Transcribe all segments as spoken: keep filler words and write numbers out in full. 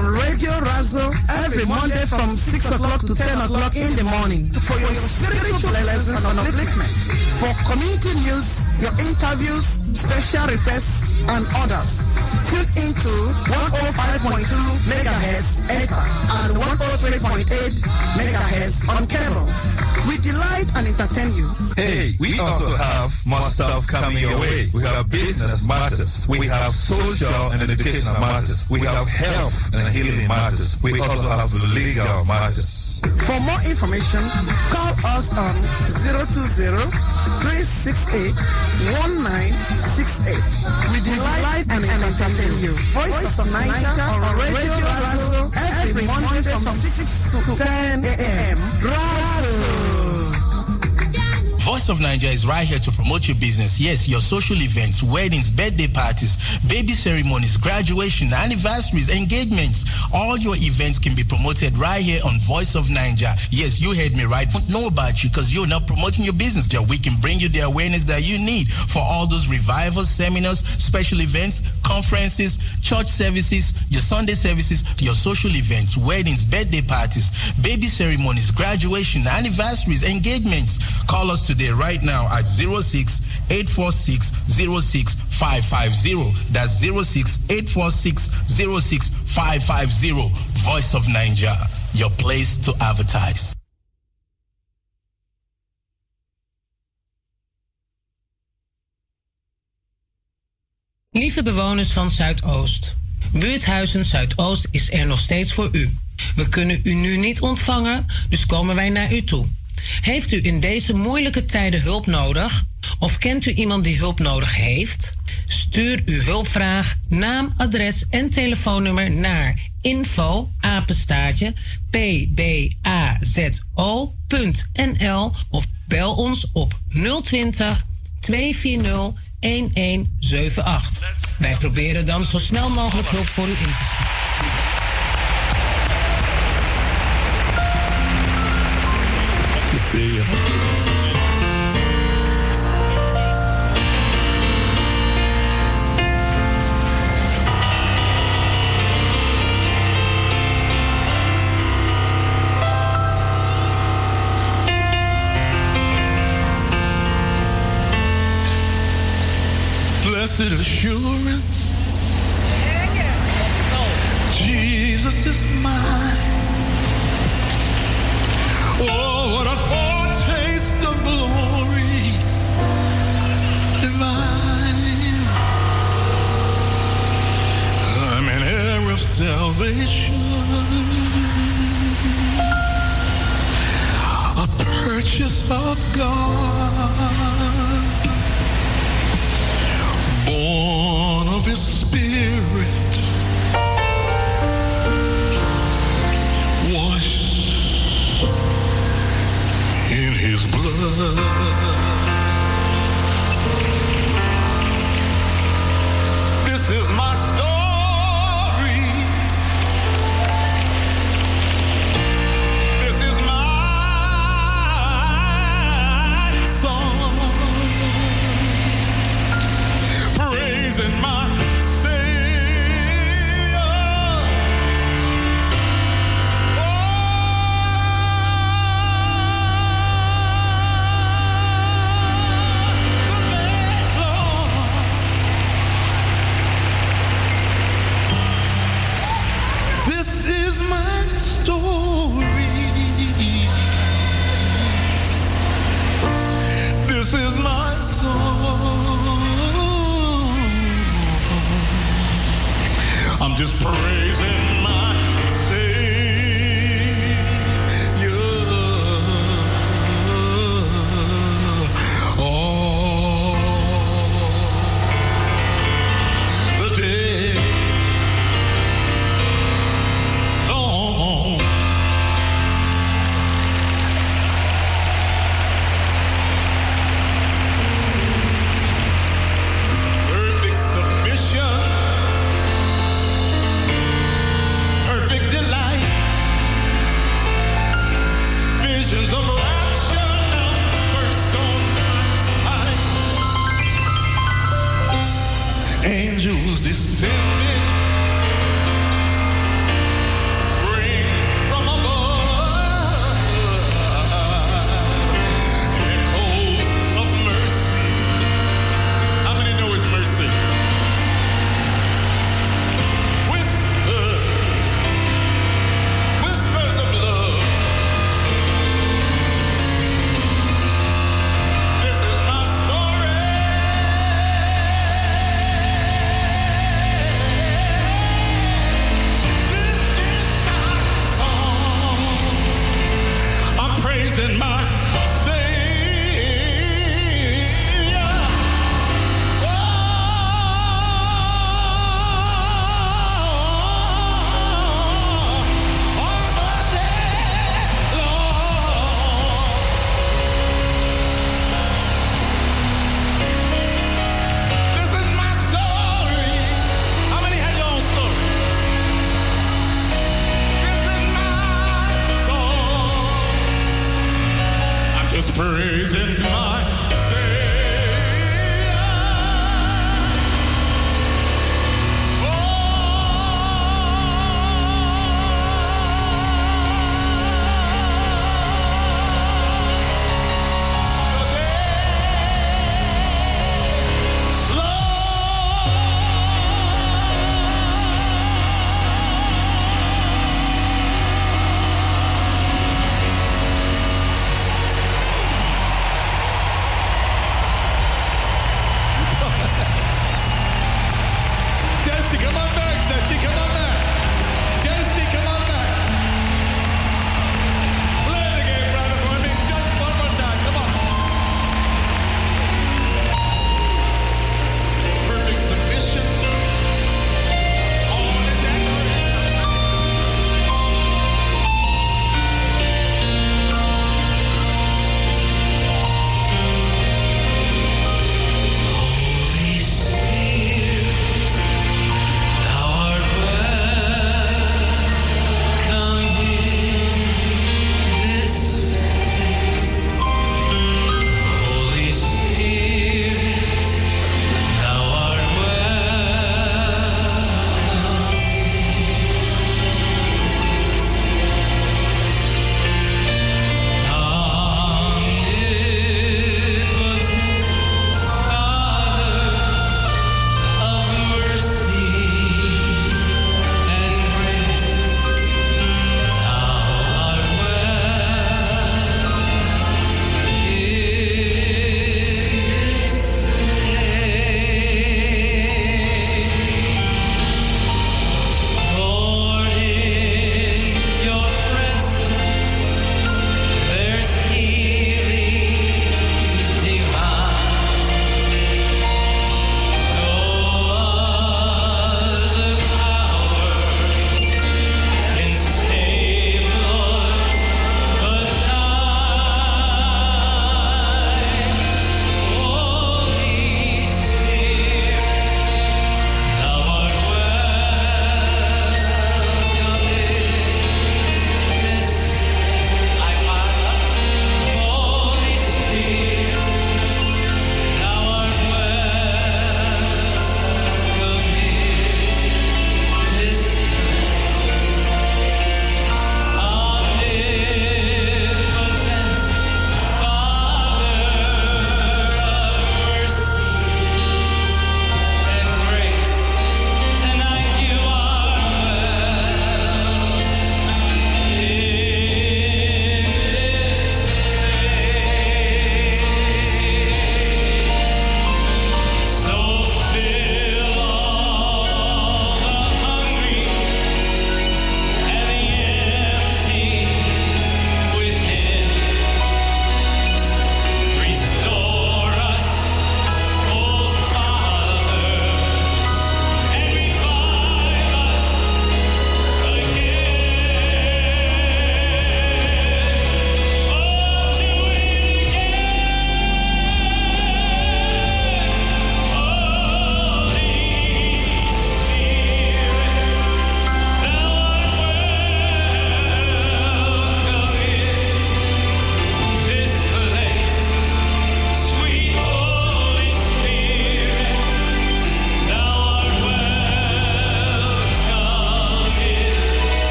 on Radio Razo every Monday from six o'clock to ten o'clock in the morning for your spiritual lessons and upliftment. For community news, your interviews, special requests, and others. Tune into one oh five point two megahertz Ether and one oh three point eight megahertz on cable. We delight and entertain you. Hey, we also have more stuff coming your way. We have business matters. We have social and educational matters. We have health and healing matters. We also have legal matters. For more information, call us on zero two zero, three six eight, one nine six eight. We delight and entertain you. Voice of Niger on Radio Razo every Monday from six to ten a.m. Razo. Voice of Nigeria is right here to promote your business. Yes, your social events, weddings, birthday parties, baby ceremonies, graduation, anniversaries, engagements. All your events can be promoted right here on Voice of Nigeria. Yes, you heard me right. Don't know about you because you're not promoting your business. There, we can bring you the awareness that you need for all those revivals, seminars, special events, conferences, church services, your Sunday services, your social events, weddings, birthday parties, baby ceremonies, graduation, anniversaries, engagements. Call us today right now at zero six eight four six zero six five five zero. That's zero six eight four six zero six five five zero. Voice of Nigeria, your place to advertise. Lieve bewoners van Zuidoost. Buurthuizen Zuidoost is er nog steeds voor u. We kunnen u nu niet ontvangen, dus komen wij naar u toe. Heeft u in deze moeilijke tijden hulp nodig? Of kent u iemand die hulp nodig heeft? Stuur uw hulpvraag, naam, adres en telefoonnummer naar info apenstaartje p b a z o punt n l of bel ons op nul twintig, twee vier nul, een een zeven acht. Wij proberen dan zo snel mogelijk hulp voor u in te schatten. See you. Blessed assurance, Jesus is mine. Oh, what a foretaste of glory divine. I'm an heir of salvation, a purchase of God, born of His Spirit, washed in His blood. This is my story. This is my song. Praising my Savior. praising my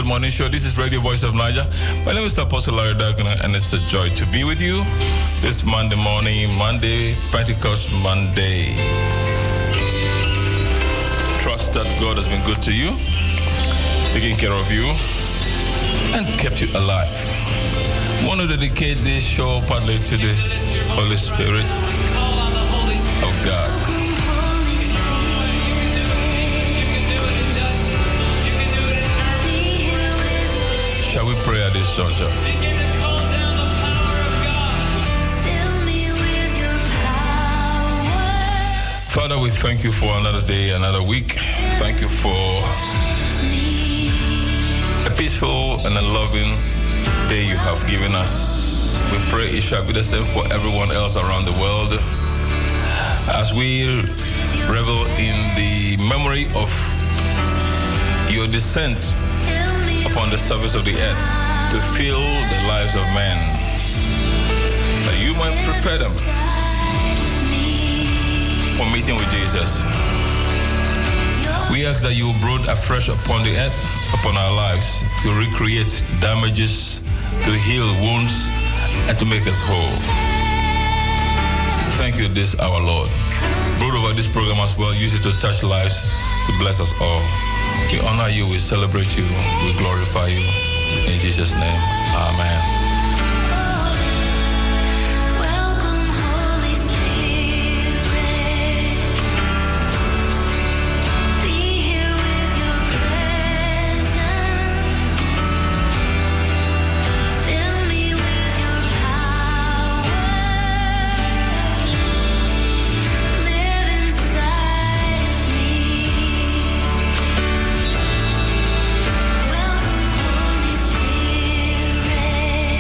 morning show. This is Radio Voice of Niger. My name is Apostle Larry Dagana, and it's a joy to be with you this Monday morning, Monday, Pentecost Monday. Trust that God has been good to you, taking care of you, and kept you alive. I want to dedicate this show partly to the Holy Spirit of God. Shall we pray at this juncture? Father, we thank you for another day, another week. Thank you for a peaceful and a loving day you have given us. We pray it shall be the same for everyone else around the world as we revel in the memory of your descent upon the surface of the earth to fill the lives of men, that you might prepare them for meeting with Jesus. We ask that you brood afresh upon the earth, upon our lives, to recreate damages, to heal wounds, and to make us whole. Thank you, this our Lord. Brood over this program as well. Use it to touch lives, to bless us all. We honor you, we celebrate you, we glorify you. In Jesus' name, amen. Spirit.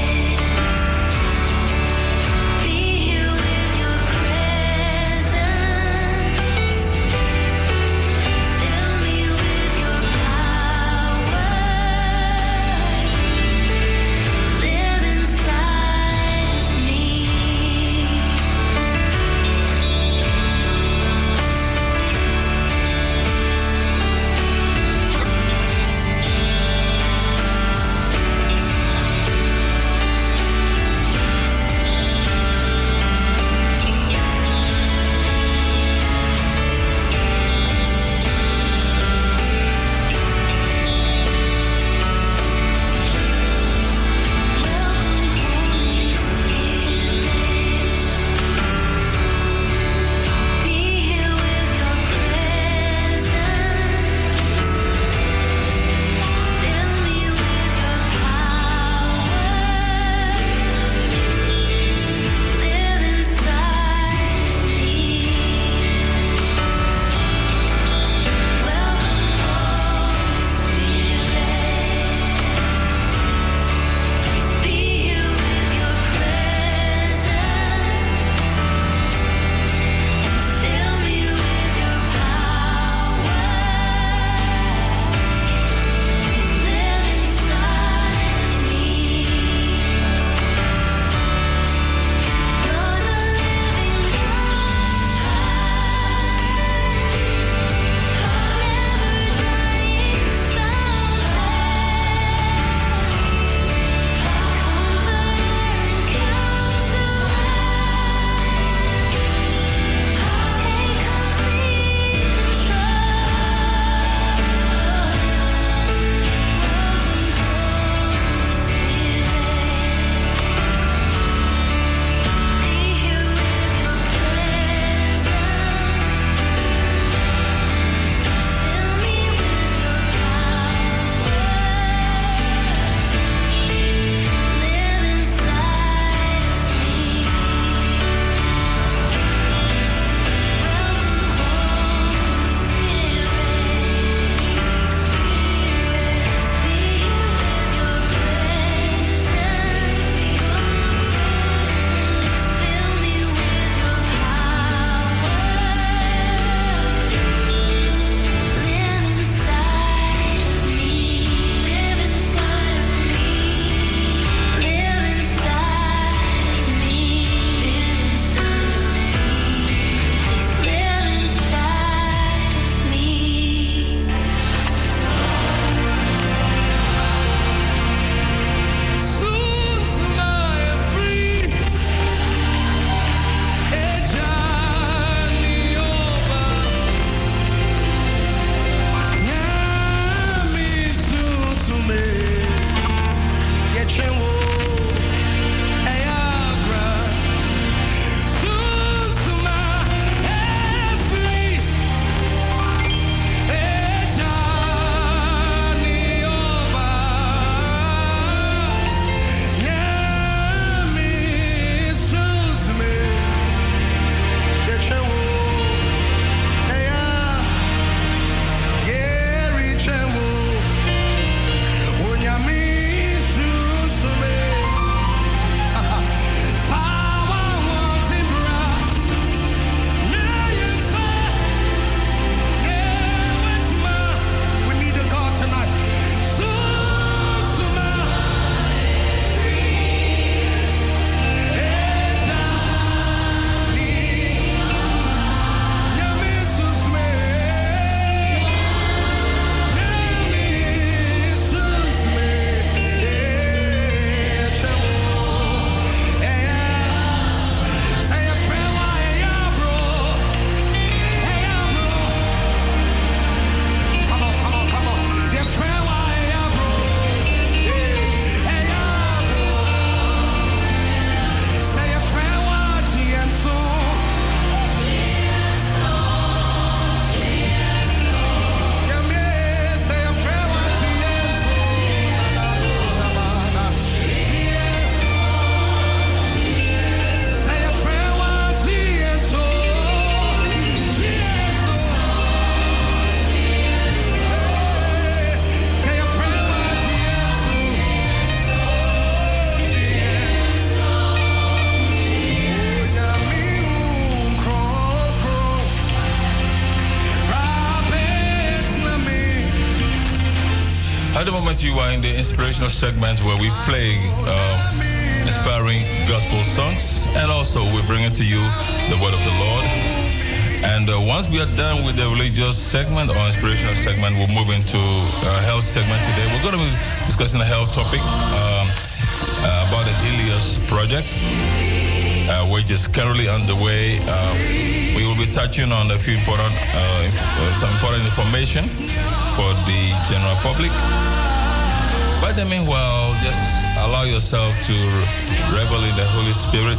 moment you are in the inspirational segment where we play um, inspiring gospel songs, and also we bring it to you the word of the Lord. And uh, once we are done with the religious segment or inspirational segment, we'll move into a health segment today. We're going to be discussing a health topic um, uh, about the Helios project, uh, which is currently underway. Uh, we will be touching on a few important, uh, inf- some important information for the general public. But in the meanwhile, just allow yourself to revel in the Holy Spirit.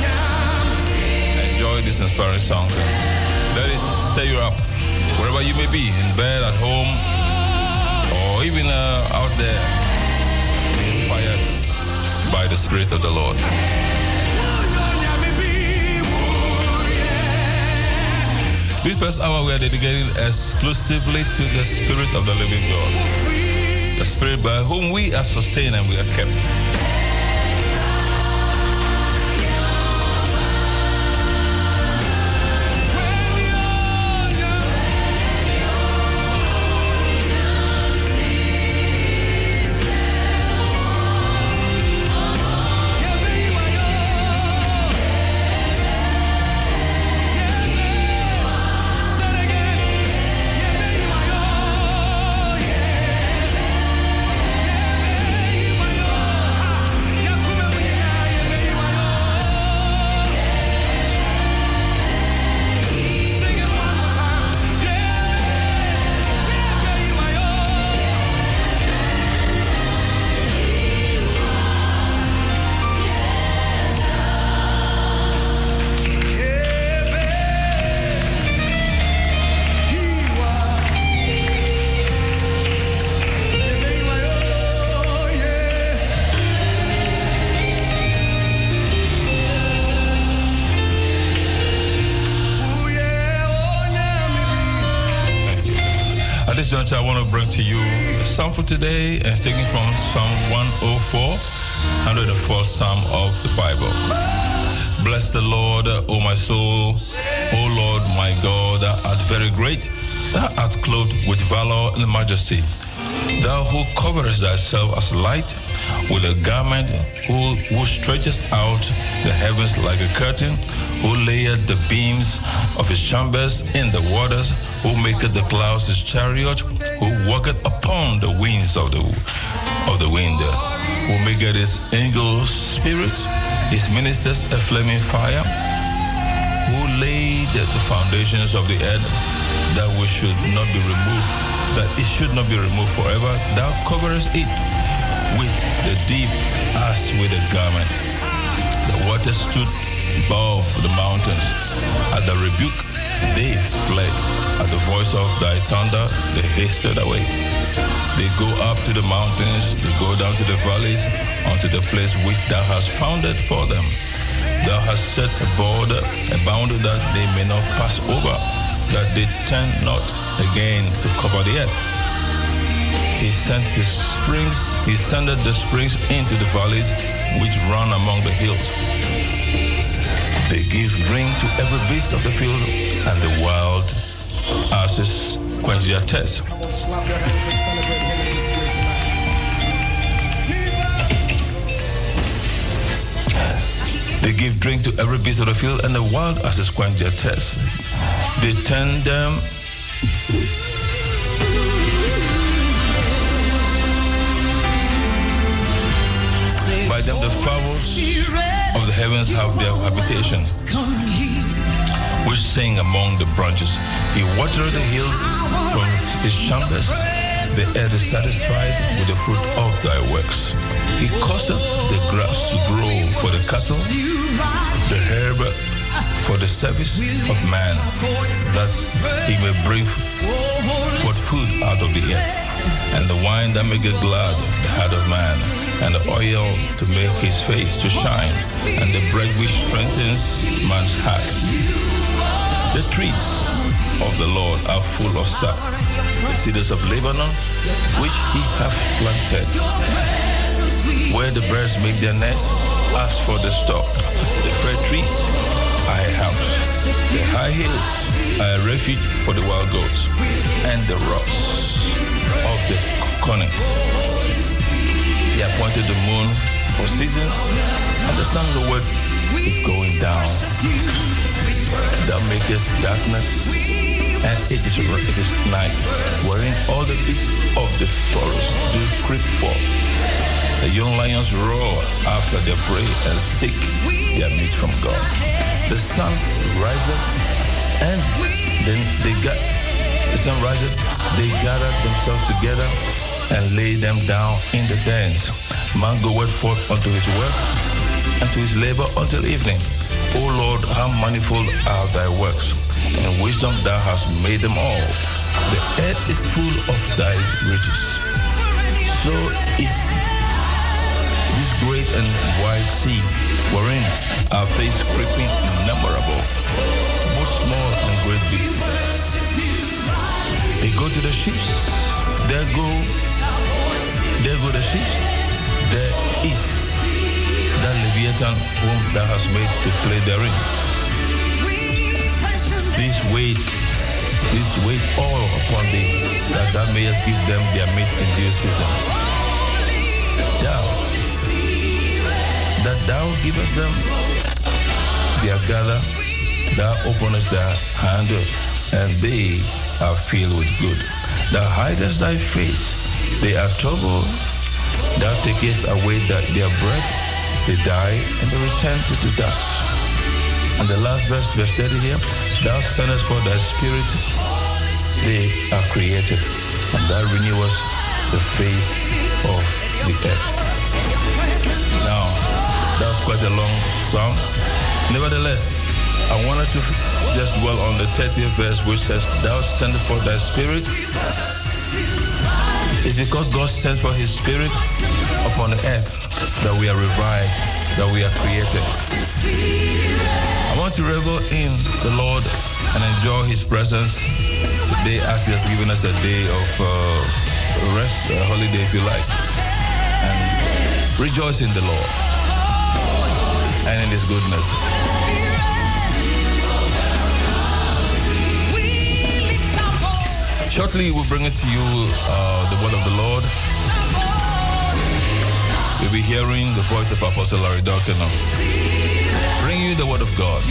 Enjoy these inspiring songs. Let it stir you up, wherever you may be, in bed, at home, or even uh, out there. Be inspired by the Spirit of the Lord. This first hour we are dedicating exclusively to the Spirit of the living God. The Spirit by whom we are sustained and we are kept. I want to bring to you a psalm for today, and it's taken from Psalm one oh four, one hundred fourth Psalm of the Bible. Bless the Lord, O my soul. O Lord, my God, thou art very great. Thou art clothed with valor and majesty. Thou who coverest thyself as light with a garment, who, who stretches out the heavens like a curtain, who layeth the beams of his chambers in the waters, who maketh the clouds his chariot, who walketh upon the wings of the of the wind, who maketh his angels spirits, his ministers a flaming fire, who laid the foundations of the earth, that we should not be removed, that it should not be removed forever. Thou coverest it with the deep as with a garment. The waters stood above the mountains. At the rebuke they fled. At the voice of thy thunder, they hasted away. They go up to the mountains, they go down to the valleys, unto the place which thou hast founded for them. Thou hast set a border, a boundary that they may not pass over, that they turn not again to cover the earth. He sent his springs, he sendeth the springs into the valleys which run among the hills. They give drink to every beast of the field, and the wild asses quench their thirst. They give drink to every beast of the field, and the wild asses quench their thirst. They turn them by them the fowls of the heavens have their habitation, which sing among the branches. He watereth the hills from his chambers. The earth is satisfied with the fruit of thy works. He causeth the grass to grow for the cattle, the herb for the service of man, that he may bring forth food out of the earth, and the wine that maketh glad the heart of man, and the oil to make his face to shine, and the bread which strengthens man's heart. The trees of the Lord are full of sap, the cedars of Lebanon, which he hath planted, where the birds make their nests. As for the stock, the fair trees are a house, the high hills are a refuge for the wild goats, and the rocks of the connect. He appointed the moon for seasons, and the sun, the word, is going down. Thou makest darkness, and it is, it is night, wherein all the beasts of the forest do creep forth. The young lions roar after their prey and seek their meat from God. The sun riseth, and then they got the sun riseth, they gather themselves together and lay them down in the dens. Man goeth forth unto his work, and to his labor until evening. O Lord, how manifold are thy works! In wisdom thou hast made them all. The earth is full of thy riches. So is this great and wide sea, wherein are face creeping innumerable, both small and great beasts. They go to the ships, there go, there go the ships, there is that Leviathan whom thou hast made to play therein. This weight, this weight all upon thee, that thou mayest give them their meat in due season. Thou, that thou givest them their gather, thou openest their hand, and they are filled with good. Thou hidest thy face, they are troubled. Thou takest away that their breath, they die and they return to the dust. And the last verse, verse thirty here, thou sendest forth thy spirit, they are created, and thou renewest the face of the earth. Now, that was quite a long song. Nevertheless, I wanted to just dwell on the thirtieth verse, which says, thou sendest forth thy spirit. It's because God sends for his spirit upon the earth that we are revived, that we are created. I want to revel in the Lord and enjoy his presence today as he has given us a day of uh, rest, a holiday if you like. And rejoice in the Lord and in his goodness. Shortly, we'll bring it to you, uh, the word of the Lord. You'll be hearing the voice of Apostle Larry Dalton. Bring you the word of God.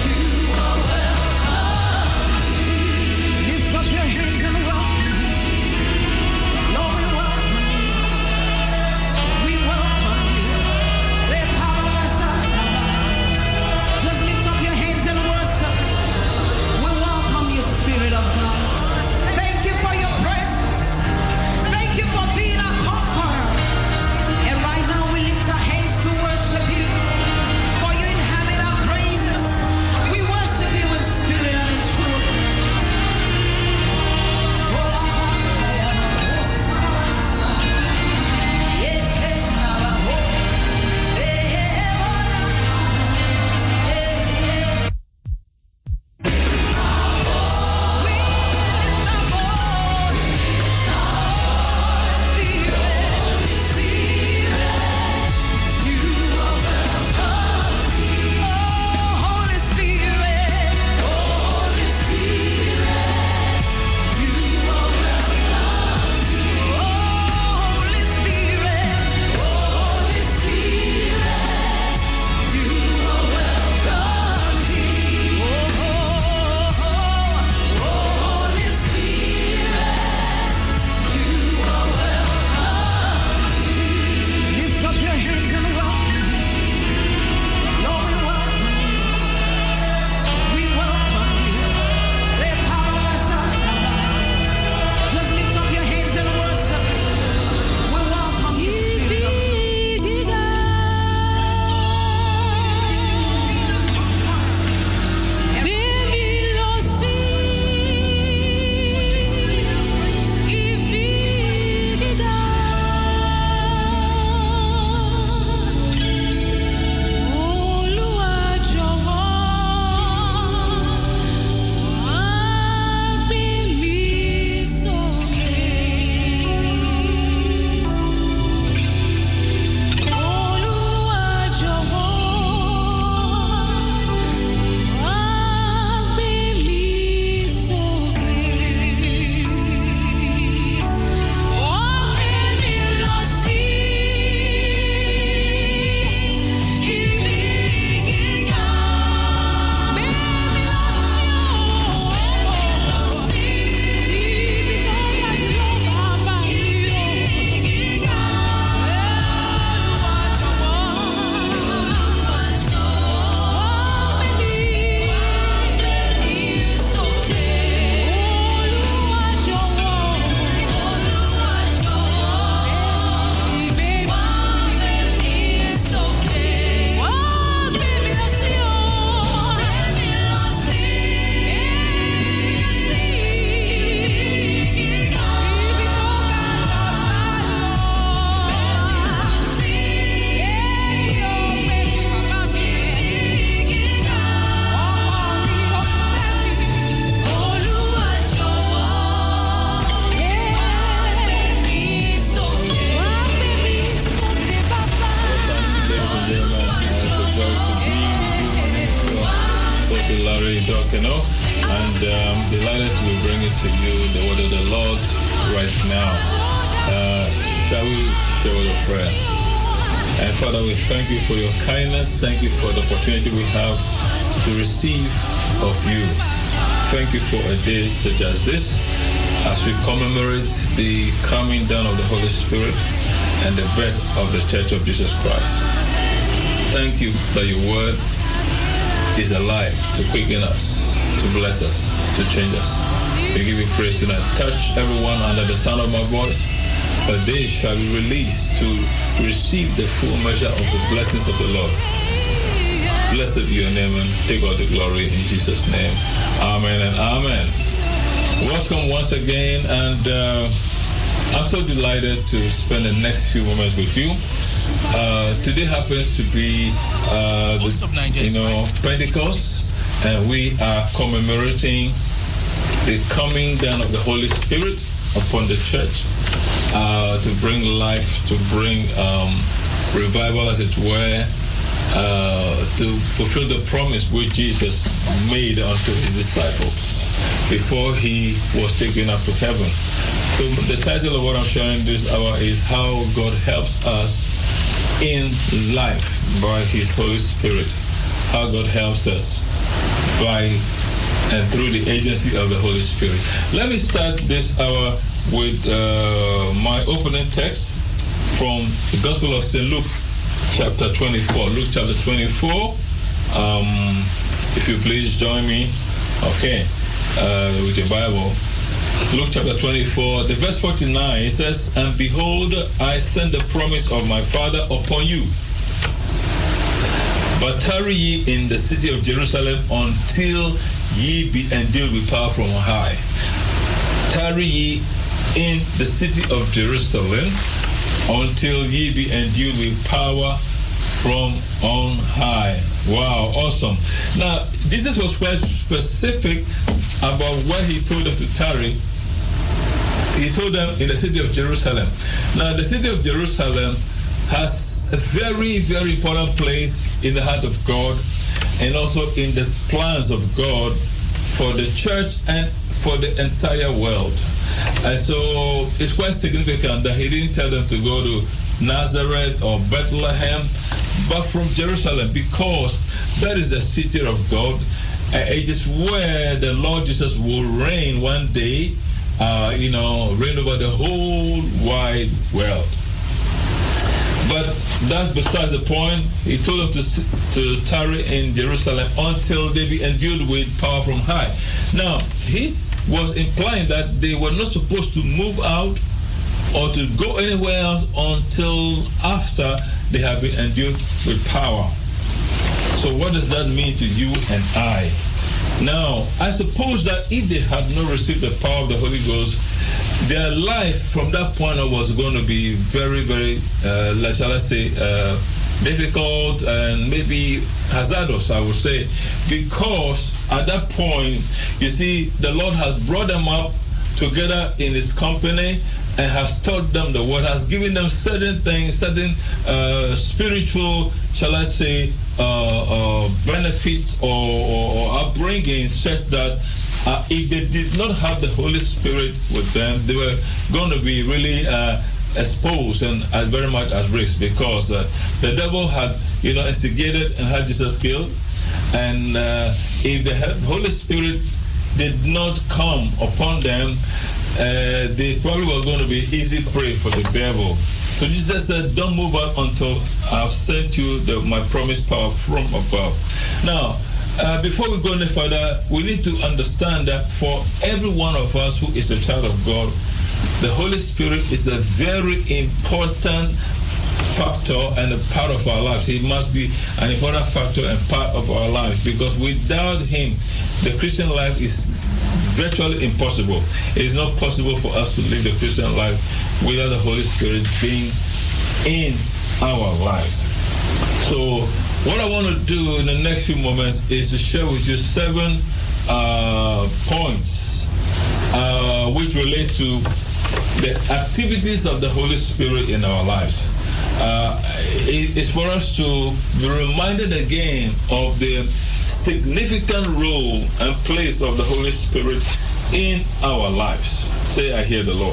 Lift up your hands and welcome. delighted to bring it to you, the word of the Lord right now. Uh, shall we share a prayer? And Father, we thank you for your kindness. Thank you for the opportunity we have to receive of you. Thank you for a day such as this, as we commemorate the coming down of the Holy Spirit and the birth of the Church of Jesus Christ. Thank you that your word is alive to quicken us, to bless us, to change us. We give you praise tonight. Touch everyone under the sound of my voice, that they shall be released to receive the full measure of the blessings of the Lord. Blessed be your name and take all the glory in Jesus' name. Amen and amen. Welcome once again, and uh, I'm so delighted to spend the next few moments with you. Uh, today happens to be uh, the, you know, Pentecost, and we are commemorating the coming down of the Holy Spirit upon the church uh, to bring life, to bring um, revival, as it were, uh, to fulfill the promise which Jesus made unto his disciples before he was taken up to heaven. So the title of what I'm sharing this hour is How God Helps Us in Life by His Holy Spirit. How God helps us by and through the agency of the Holy Spirit. Let me start this hour with uh, my opening text from the Gospel of Saint Luke, chapter twenty-four. Luke chapter twenty-four. Um, if you please join me, okay, uh, with your Bible. Luke chapter twenty-four, the verse forty-nine, it says, "And behold, I send the promise of my Father upon you. But tarry ye in the city of Jerusalem until ye be endued with power from on high." Tarry ye in the city of Jerusalem until ye be endued with power from on high. Wow, awesome. Now, Jesus was quite specific about where he told them to tarry. He told them in the city of Jerusalem. Now, the city of Jerusalem has a very, very important place in the heart of God and also in the plans of God for the church and for the entire world. And so it's quite significant that he didn't tell them to go to Nazareth or Bethlehem, but from Jerusalem, because that is the city of God. Uh, it is where the Lord Jesus will reign one day, uh, you know, reign over the whole wide world. But that's besides the point. He told them to, to tarry in Jerusalem until they be endued with power from high. Now, he was implying that they were not supposed to move out or to go anywhere else until after they have been endued with power. So what does that mean to you and I? Now, I suppose that if they had not received the power of the Holy Ghost, their life from that point on was going to be very, very, uh, like, shall I say, uh, difficult and maybe hazardous, I would say, because at that point, you see, the Lord has brought them up together in His company and has taught them the word, has given them certain things, certain uh, spiritual, shall I say, uh, uh, benefits or, or, or upbringings, such that uh, if they did not have the Holy Spirit with them, they were going to be really uh, exposed and uh, very much at risk, because uh, the devil had, you know, instigated and had Jesus killed. And uh, if the Holy Spirit did not come upon them, uh, they probably were going to be easy prey for the devil. So Jesus said, don't move out until I've sent you the, my promised power from above. Now, uh, before we go any further, we need to understand that for every one of us who is a child of God, the Holy Spirit is a very important factor and a part of our lives. He must be an important factor and part of our lives, because without Him, the Christian life is virtually impossible. It is not possible for us to live the Christian life without the Holy Spirit being in our lives. So what I want to do in the next few moments is to share with you seven uh, points uh, which relate to the activities of the Holy Spirit in our lives. Uh, it, it's for us to be reminded again of the significant role and place of the Holy Spirit in our lives. Say, I hear the Lord.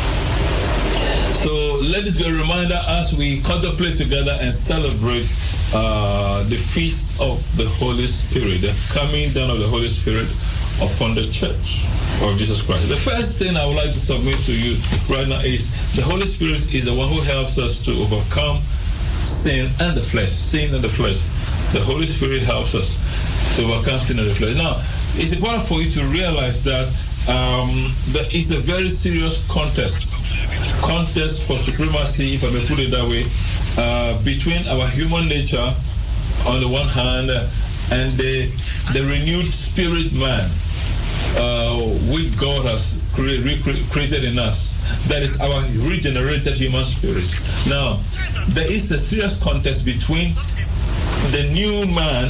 So let this be a reminder as we contemplate together and celebrate uh, the feast of the Holy Spirit, the coming down of the Holy Spirit upon the church of Jesus Christ. The first thing I would like to submit to you right now is the Holy Spirit is the one who helps us to overcome sin and the flesh. Sin and the flesh. The Holy Spirit helps us to overcome sin and the flesh. Now, it's important for you to realize that um, there is a very serious contest. Contest for supremacy, if I may put it that way, uh, between our human nature on the one hand and the, the renewed spirit man, uh, which God has cre- recre- created in us. That is our regenerated human spirit. Now, there is a serious contest between the new man,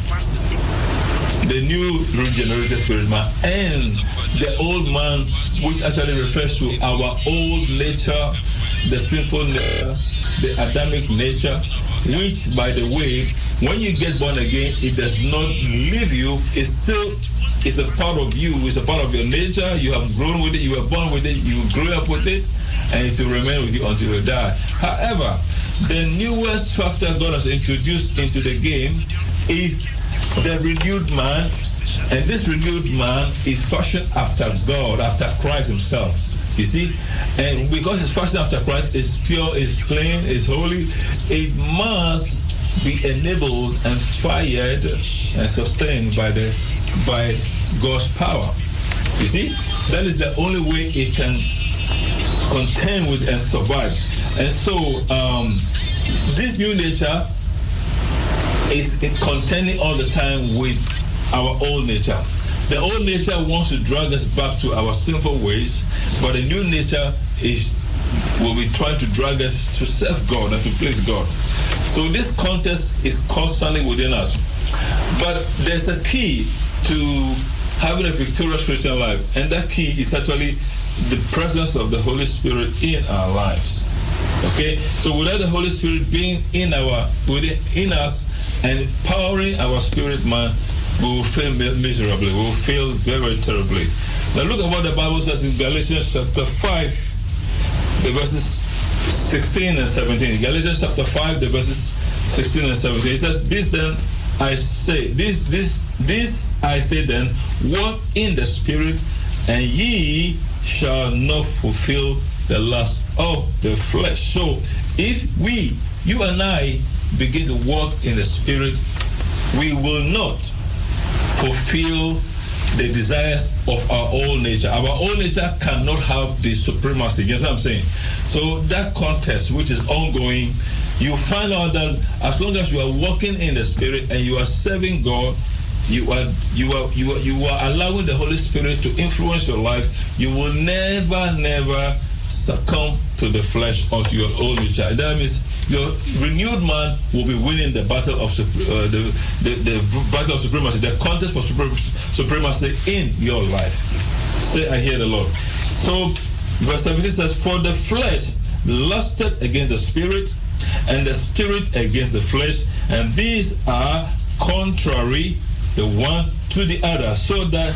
the new regenerated spirit man, and the old man, which actually refers to our old nature, the sinful nature, the Adamic nature, which, by the way, when you get born again, it does not leave you. It still is a part of you. It's a part of your nature. You have grown with it. You were born with it. You grew up with it, and it will remain with you until you die. However, the newest factor God has introduced into the game is the renewed man, and this renewed man is fashioned after God, after Christ himself. You see? And because it's fashioned after Christ, it's pure, it's clean, it's holy, it must be enabled and fired and sustained by the by God's power. You see? That is the only way it can contend with and survive. And so um, this new nature is contending all the time with our old nature. The old nature wants to drag us back to our sinful ways, but the new nature is will be trying to drag us to serve God and to please God. So this contest is constantly within us. But there's a key to having a victorious Christian life, and that key is actually the presence of the Holy Spirit in our lives. Okay? So without the Holy Spirit being in our within in us and powering our spirit man, we will fail miserably. We will fail very, very terribly. Now look at what the Bible says in Galatians chapter five, the verses sixteen and seventeen. Galatians chapter five, the verses sixteen and seventeen. It says, "This then I say, this, this, this I say then, walk in the Spirit, and ye shall not fulfill the lust of the flesh." So if we, you and I, begin to walk in the Spirit, we will not fulfill the desires of our old nature. Our old nature cannot have the supremacy. You know what I'm saying? So that contest, which is ongoing, you find out that as long as you are walking in the Spirit and you are serving God, you are you are you are you are allowing the Holy Spirit to influence your life, you will never, never succumb to the flesh or to your old nature. That means your renewed man will be winning the battle of uh, the, the the battle of supremacy, the contest for supremacy in your life. Say, I hear the Lord. So, verse seventeen says, "For the flesh lusted against the spirit, and the spirit against the flesh, and these are contrary the one to the other, so that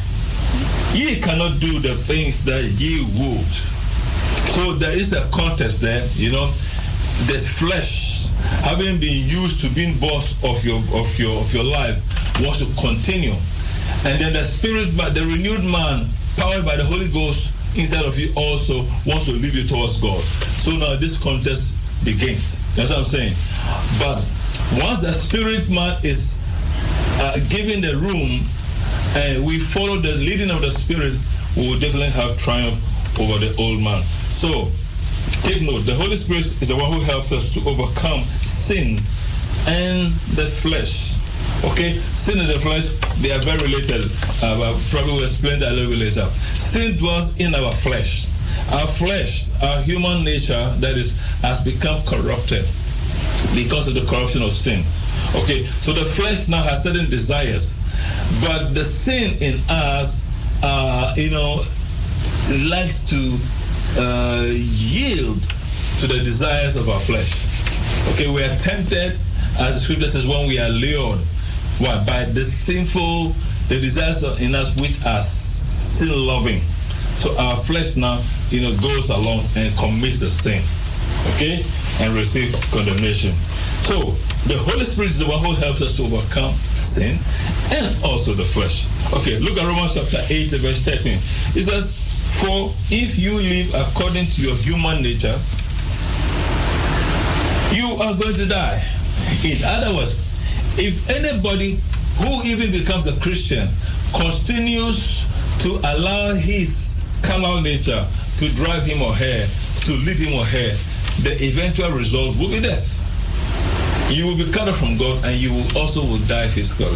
ye cannot do the things that ye would." So there is a contest there, you know. The flesh, having been used to being boss of your of your of your life, wants to continue, and then the spirit, the renewed man, powered by the Holy Ghost inside of you, also wants to lead you towards God. So now this contest begins. That's what I'm saying. But once the spirit man is uh, given the room, and we follow the leading of the Spirit, we will definitely have triumph over the old man. So take note, the Holy Spirit is the one who helps us to overcome sin and the flesh. Okay, sin and the flesh, they are very related. Uh, I'll probably will explain that a little bit later. Sin dwells in our flesh. Our flesh, our human nature, that is, has become corrupted because of the corruption of sin. Okay, so the flesh now has certain desires, but the sin in us, uh, you know, likes to uh, yield to the desires of our flesh. Okay, we are tempted, as the scripture says, when we are lured. Why? By the sinful, the desires in us which are sin-loving. So our flesh now, you know, goes along and commits the sin, okay, and receives condemnation. So the Holy Spirit is the one who helps us to overcome sin and also the flesh. Okay, look at Romans chapter eight, verse thirteen. It says, "For if you live according to your human nature, you are going to die." In other words, if anybody who even becomes a Christian continues to allow his carnal nature to drive him or her, to lead him or her, the eventual result will be death. You will be cut off from God, and you will also will die physically.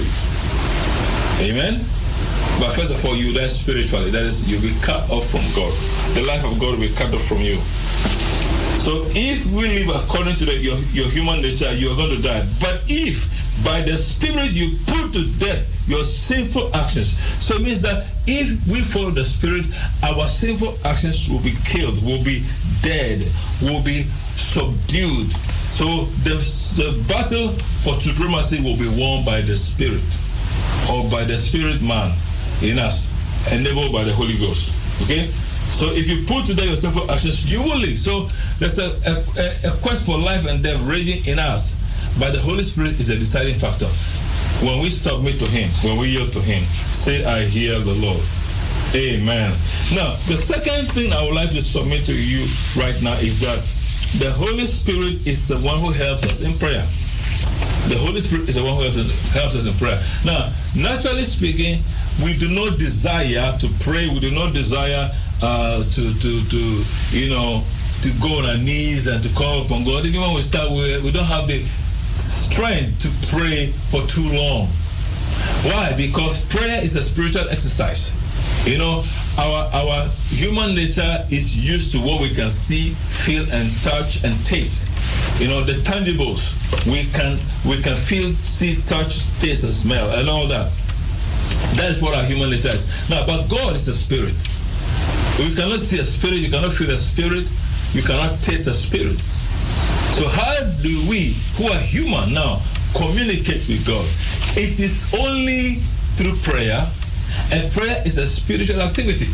Amen? But first of all, you die spiritually. That is, you'll be cut off from God. The life of God will be cut off from you. So if we live according to the, your, your human nature, you are going to die. But if by the Spirit you put to death your sinful actions, so it means that if we follow the Spirit, our sinful actions will be killed, will be dead, will be subdued. So the, the battle for supremacy will be won by the Spirit, or by the Spirit man in us, enabled by the Holy Ghost. Okay? So if you put to death your sinful actions, you will live. So there's a, a, a quest for life and death raging in us. But the Holy Spirit is a deciding factor. When we submit to Him, when we yield to Him, say, "I hear the Lord." Amen. Now, the second thing I would like to submit to you right now is that the Holy Spirit is the one who helps us in prayer. The Holy Spirit is the one who helps us, helps us in prayer. Now, naturally speaking, we do not desire to pray. We do not desire uh, to, to, to, you know, to go on our knees and to call upon God. Even when we start, we, we don't have the strength to pray for too long. Why? Because prayer is a spiritual exercise. You know, our our human nature is used to what we can see, feel, and touch and taste. You know, the tangibles. We can we can feel, see, touch, taste, and smell, and all that. That is what our human nature is. Now, but God is a spirit. You cannot see a spirit, you cannot feel a spirit, you cannot taste a spirit. So how do we, who are human now, communicate with God? It is only through prayer, and prayer is a spiritual activity.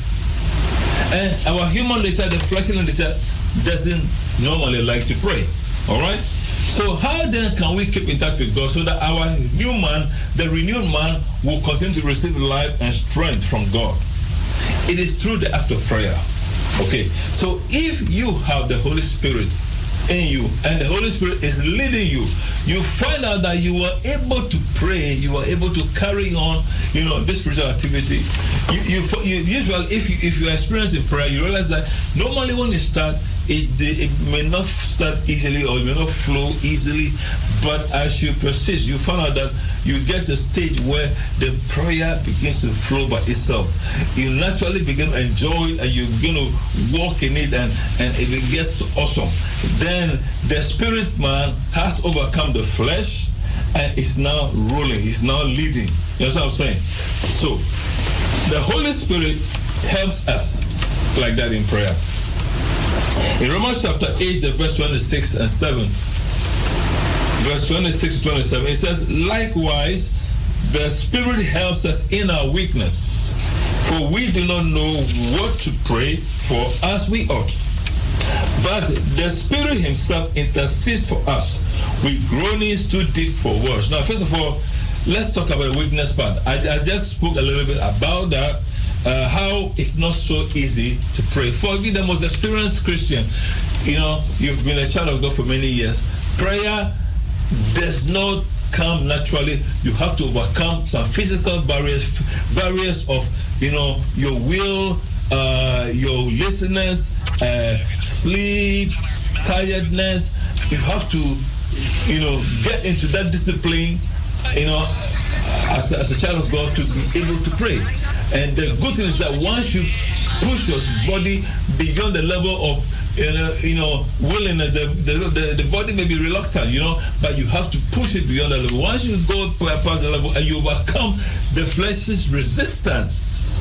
And our human nature, the fleshly nature, doesn't normally like to pray. All right? So how then can we keep in touch with God so that our new man, the renewed man, will continue to receive life and strength from God? It is through the act of prayer. Okay, so if you have the Holy Spirit in you and the Holy Spirit is leading you, you find out that you are able to pray, you are able to carry on, you know, this spiritual activity. You, you, you usually, if you if you experience in prayer, you realize that normally when you start, it it may not start easily or it may not flow easily, but as you persist, you find out that you get to a stage where the prayer begins to flow by itself. You naturally begin to enjoy it and you begin to walk in it, and, and it gets awesome. Then the spirit man has overcome the flesh and is now ruling, is now leading. You know what I'm saying? So the Holy Spirit helps us like that in prayer. In Romans chapter eight, the verse twenty-six and seven, verse twenty-six to twenty-seven, it says, "Likewise, the Spirit helps us in our weakness, for we do not know what to pray for as we ought. But the Spirit Himself intercedes for us with groanings too deep for words." Now, first of all, let's talk about the weakness part. I, I just spoke a little bit about that. Uh, how it's not so easy to pray. For me, the most experienced Christian, you know, you've been a child of God for many years. Prayer does not come naturally. You have to overcome some physical barriers, barriers of, you know, your will, uh, your laziness, uh, sleep, tiredness. You have to, you know, get into that discipline, you know, as a, as a child of God, to be able to pray. And the good thing is that once you push your body beyond the level of, you know, you know willingness, the, the, the, the body may be reluctant, you know, but you have to push it beyond that level. Once you go past the level and you overcome the flesh's resistance,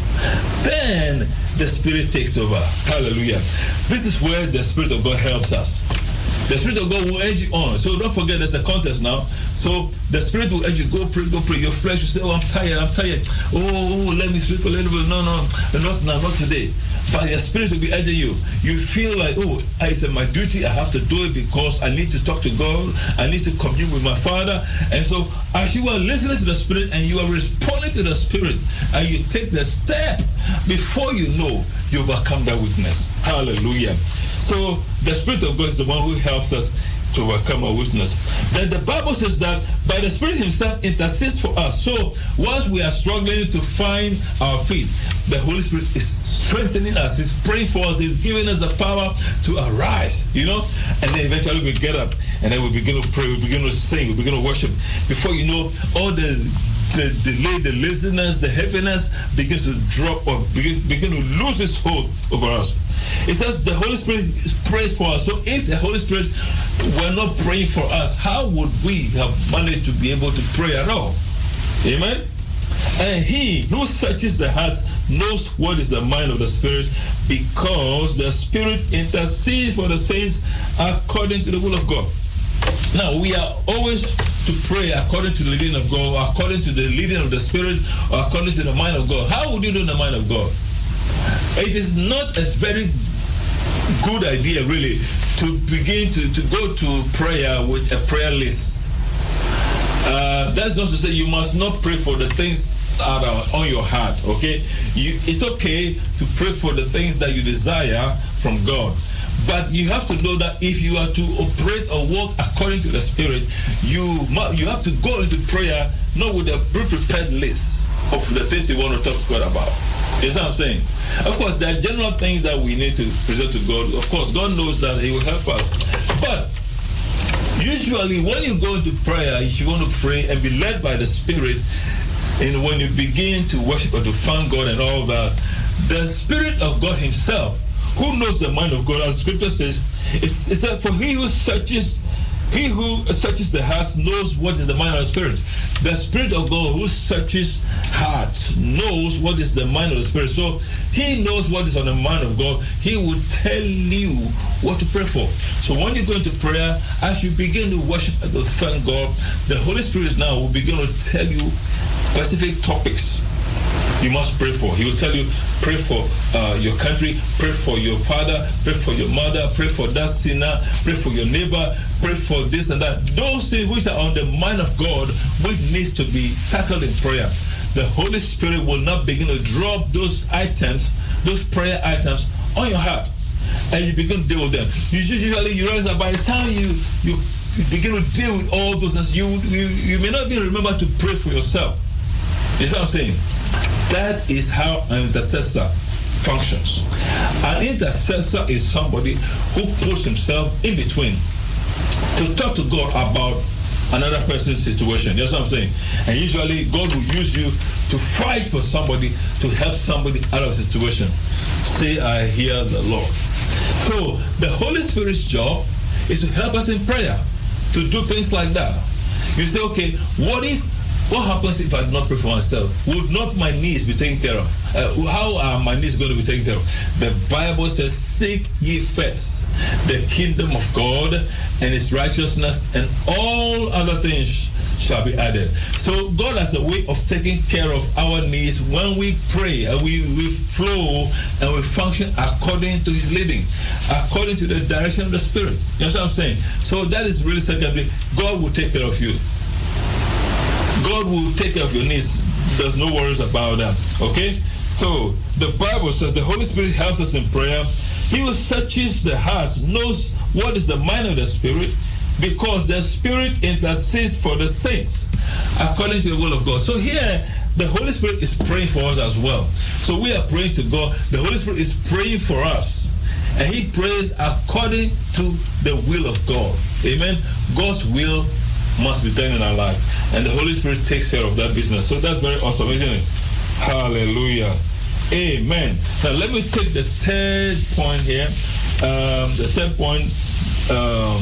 then the Spirit takes over. Hallelujah. This is where the Spirit of God helps us. The Spirit of God will urge you on. So don't forget there's a contest now. So the Spirit will urge you, go pray, go pray. Your flesh will say, oh, I'm tired, I'm tired. Oh, let me sleep a little bit. No, no, not now, not today. But your Spirit will be urging you. You feel like, oh, it's my duty, I have to do it because I need to talk to God. I need to commune with my Father. And so as you are listening to the Spirit and you are responding to the Spirit and you take the step, before you know, you overcome that weakness. Hallelujah. So the Spirit of God is the one who helps us to overcome our weakness. Then the Bible says that by the Spirit Himself intercedes for us. So once we are struggling to find our feet, the Holy Spirit is strengthening us. He's praying for us. He's giving us the power to arise, you know. And then eventually we get up and then we begin to pray. We begin to sing. We begin to worship. Before you know, all the the delay, the laziness, the heaviness begins to drop or begin, begin to lose its hold over us. It says the Holy Spirit prays for us. So if the Holy Spirit were not praying for us, how would we have managed to be able to pray at all? Amen? And He who searches the heart knows what is the mind of the Spirit, because the Spirit intercedes for the saints according to the will of God. Now, we are always to pray according to the leading of God, or according to the leading of the Spirit, or according to the mind of God. How would you know the mind of God? It is not a very good idea, really, to begin to, to go to prayer with a prayer list. Uh, that's not to say you must not pray for the things that are on your heart, okay? You, it's okay to pray for the things that you desire from God. But you have to know that if you are to operate or walk according to the Spirit, you you have to go into prayer not with a pre-prepared list of the things you want to talk to God about. You see what I'm saying? Of course, there are general things that we need to present to God. Of course, God knows that He will help us. But usually when you go into prayer, if you want to pray and be led by the Spirit, and when you begin to worship and to thank God and all that, the Spirit of God Himself, who knows the mind of God, as Scripture says, it's, it's that for He who searches, He who searches the heart knows what is the mind of the Spirit. The Spirit of God who searches hearts knows what is the mind of the Spirit. So He knows what is on the mind of God. He will tell you what to pray for. So when you go into prayer, as you begin to worship and to thank God, the Holy Spirit now will begin to tell you specific topics you must pray for. He will tell you, pray for uh, your country, pray for your father, pray for your mother, pray for that sinner, pray for your neighbor, pray for this and that. Those things which are on the mind of God, which needs to be tackled in prayer. The Holy Spirit will not begin to drop those items, those prayer items on your heart, and you begin to deal with them. You usually you realize that by the time you you, you begin to deal with all those things, you, you you may not even remember to pray for yourself. You see what I'm saying? That is how an intercessor functions. An intercessor is somebody who puts himself in between to talk to God about another person's situation. That's what I'm saying. And usually God will use you to fight for somebody, to help somebody out of a situation. Say, I hear the Lord. So the Holy Spirit's job is to help us in prayer, to do things like that. You say, okay, what if What happens if I do not pray for myself? Would not my needs be taken care of? Uh, how are my needs going to be taken care of? The Bible says, seek ye first the kingdom of God and His righteousness, and all other things shall be added. So God has a way of taking care of our needs when we pray and we, we flow and we function according to His leading, according to the direction of the Spirit. You know what I'm saying? So that is really secondary. God will take care of you. God will take care of your needs. There's no worries about that. Okay? So, the Bible says the Holy Spirit helps us in prayer. He who searches the hearts knows what is the mind of the Spirit, because the Spirit intercedes for the saints according to the will of God. So here, the Holy Spirit is praying for us as well. So we are praying to God. The Holy Spirit is praying for us. And He prays according to the will of God. Amen? God's will must be done in our lives, and the Holy Spirit takes care of that business. So that's very awesome, isn't it? Hallelujah. Amen. Now let me take the third point here. Um, the third point um,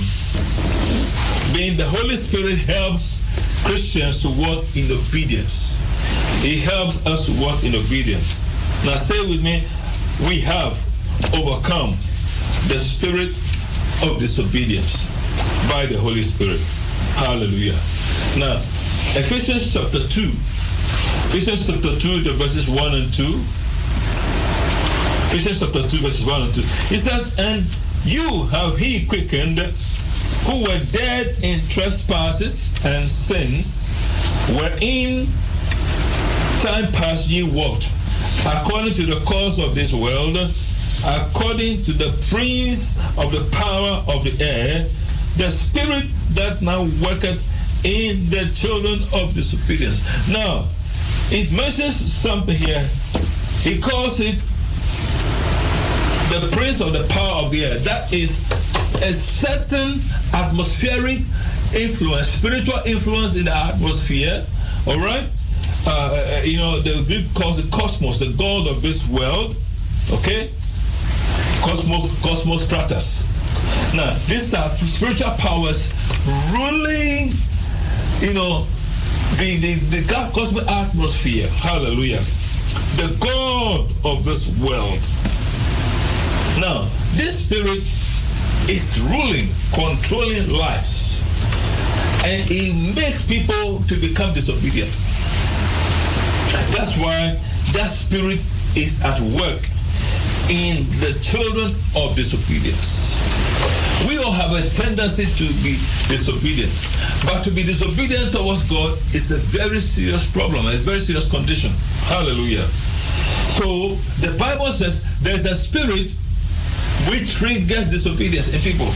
being the Holy Spirit helps Christians to walk in obedience. He helps us to walk in obedience. Now say with me, we have overcome the spirit of disobedience. by the Holy Spirit. Hallelujah. Now, Ephesians chapter two. Ephesians chapter two, the verses one and two. Ephesians chapter two, verses one and two. It says, and you have he quickened who were dead in trespasses and sins, wherein time past ye walked, according to the course of this world, according to the prince of the power of the air, the spirit that now worketh in the children of disobedience. Now, it mentions something here. He calls it the prince of the power of the air. That is a certain atmospheric influence, spiritual influence in the atmosphere. All right? Uh, you know, the Greek calls it cosmos, the god of this world. Okay? Cosmos, cosmos kratos. Now, these are spiritual powers ruling, you know, the, the, the cosmic atmosphere. Hallelujah. The God of this world. Now, this spirit is ruling, controlling lives, and it makes people to become disobedient. That's why that spirit is at work in the children of disobedience. We all have a tendency to be disobedient, but to be disobedient towards God is a very serious problem, it's a very serious condition. Hallelujah. So the Bible says there's a spirit which triggers disobedience in people.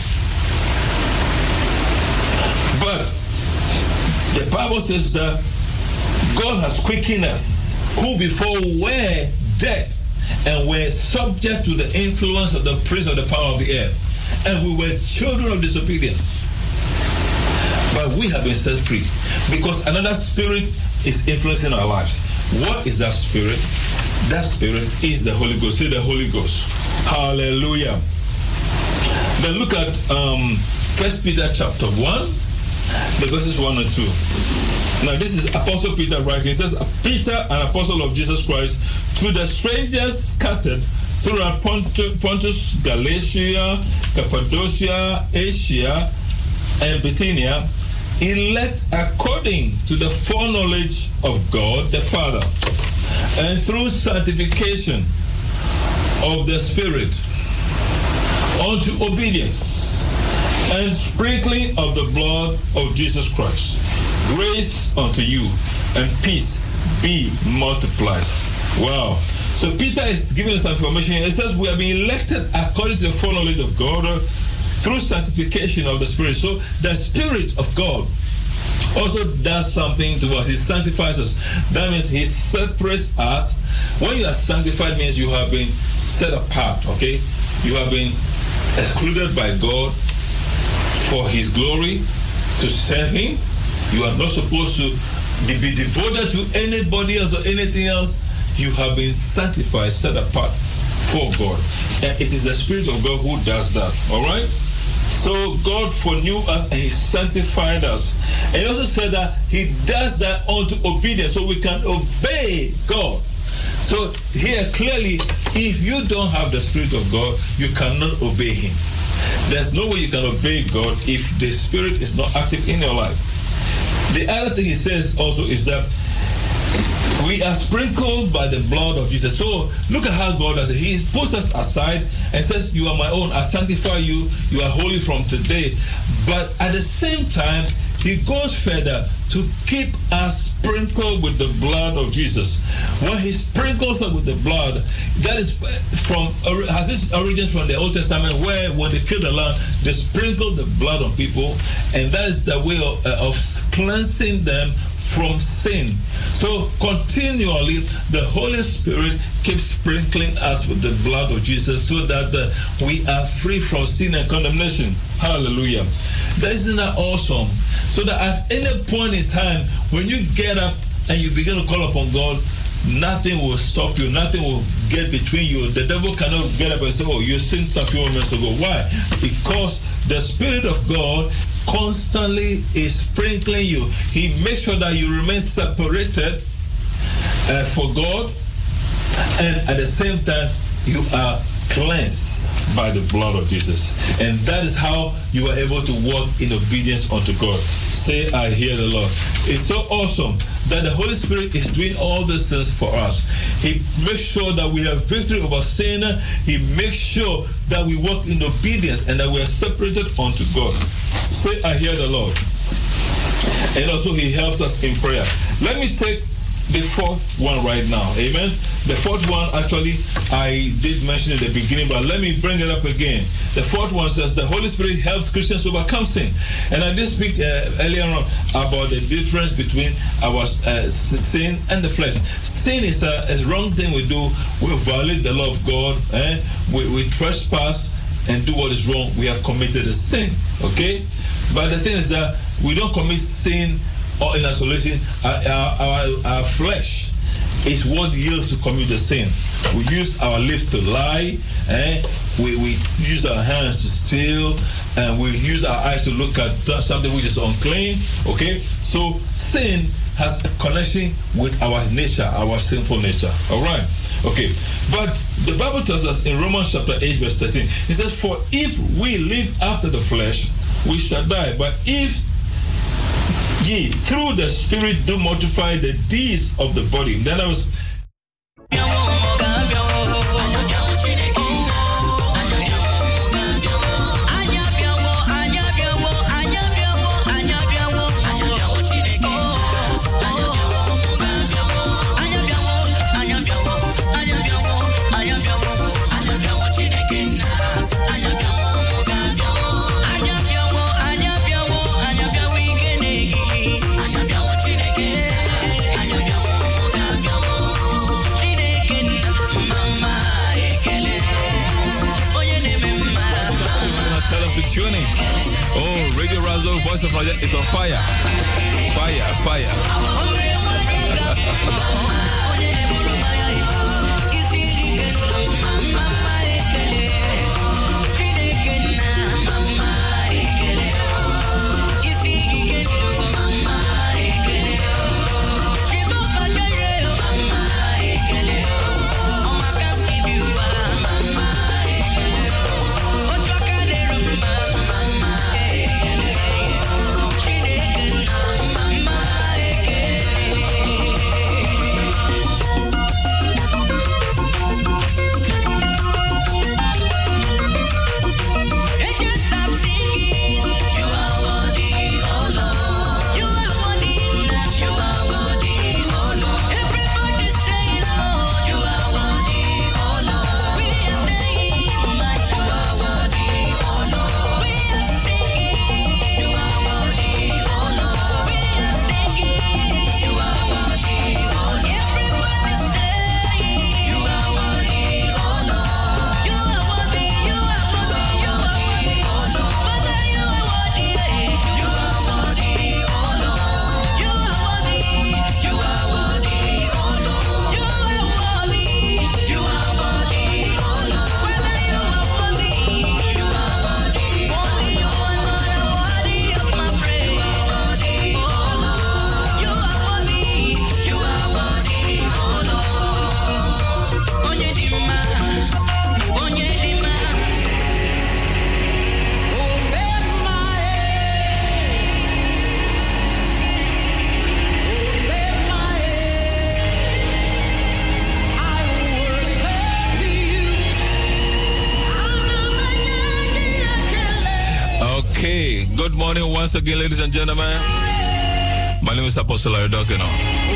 But the Bible says that God has quickened us, who before were dead and were subject to the influence of the prince of the power of the air. And we were children of disobedience. But we have been set free because another spirit is influencing our lives. What is that spirit? That spirit is the Holy Ghost. Say the Holy Ghost. Hallelujah. Then look at um, First Peter chapter one, the verses one and two. Now this is Apostle Peter writing. He says, Peter, an apostle of Jesus Christ, to the strangers scattered throughout Pontus, Galatia, Cappadocia, Asia, and Bithynia, elect according to the foreknowledge of God the Father, and through sanctification of the Spirit, unto obedience and sprinkling of the blood of Jesus Christ. Grace unto you and peace be multiplied. Wow. So Peter is giving us some information. It says we have been elected according to the foreknowledge of God uh, through sanctification of the Spirit. So the Spirit of God also does something to us. He sanctifies us. That means he separates us. When you are sanctified means you have been set apart, okay? You have been excluded by God for his glory to serve him. You are not supposed to be devoted to anybody else or anything else. You have been sanctified, set apart for God. And it is the Spirit of God who does that. All right? So God foreknew us and he sanctified us. And he also said that he does that unto obedience, so we can obey God. So here clearly, if you don't have the Spirit of God, you cannot obey him. There's no way you can obey God if the Spirit is not active in your life. The other thing he says also is that we are sprinkled by the blood of Jesus. So look at how God does it. He puts us aside and says, you are my own. I sanctify you. You are holy from today. But at the same time, he goes further to keep us sprinkled with the blood of Jesus. When he sprinkles us with the blood, that is from, has this origin from the Old Testament, where when they killed the lamb, they sprinkled the blood on people, and that is the way of, uh, of cleansing them from sin. So continually, the Holy Spirit keeps sprinkling us with the blood of Jesus so that uh, we are free from sin and condemnation. Hallelujah. Isn't that awesome? So that at any point in time, when you get up and you begin to call upon God, nothing will stop you. Nothing will get between you. The devil cannot get up and say, oh, you sinned a few moments ago. Why? Because the Spirit of God constantly is sprinkling you. He makes sure that you remain separated uh, for God, and at the same time, you are cleansed by the blood of Jesus. And that is how you are able to walk in obedience unto God. Say, I hear the Lord. It's so awesome that the Holy Spirit is doing all these things for us. He makes sure that we have victory over sin. He makes sure that we walk in obedience and that we are separated unto God. Say, I hear the Lord. And also he helps us in prayer. Let me take the fourth one right now. Amen. The fourth one, actually, I did mention in the beginning, but let me bring it up again. The fourth one says the Holy Spirit helps Christians overcome sin. And I did speak uh, earlier on about the difference between our uh, sin and the flesh. Sin is a, a wrong thing we do. We violate the law of God. Eh? We, we trespass and do what is wrong. We have committed a sin. Okay? But the thing is that we don't commit sin or in isolation. Our, our, our flesh is what yields to commit the sin. We use our lips to lie, eh? we, we use our hands to steal, and we use our eyes to look at something which is unclean. Okay, so sin has a connection with our nature, our sinful nature. All right. Okay, but the Bible tells us in Romans chapter eight, verse thirteen, it says, "For if we live after the flesh, we shall die. But if ye through the Spirit do mortify the deeds of the body." Then I was tuning. Oh, Radio Razo, Voice of Raja is on fire. Fire, fire. Good morning once again, ladies and gentlemen. My name is Apostle Larry Dokino,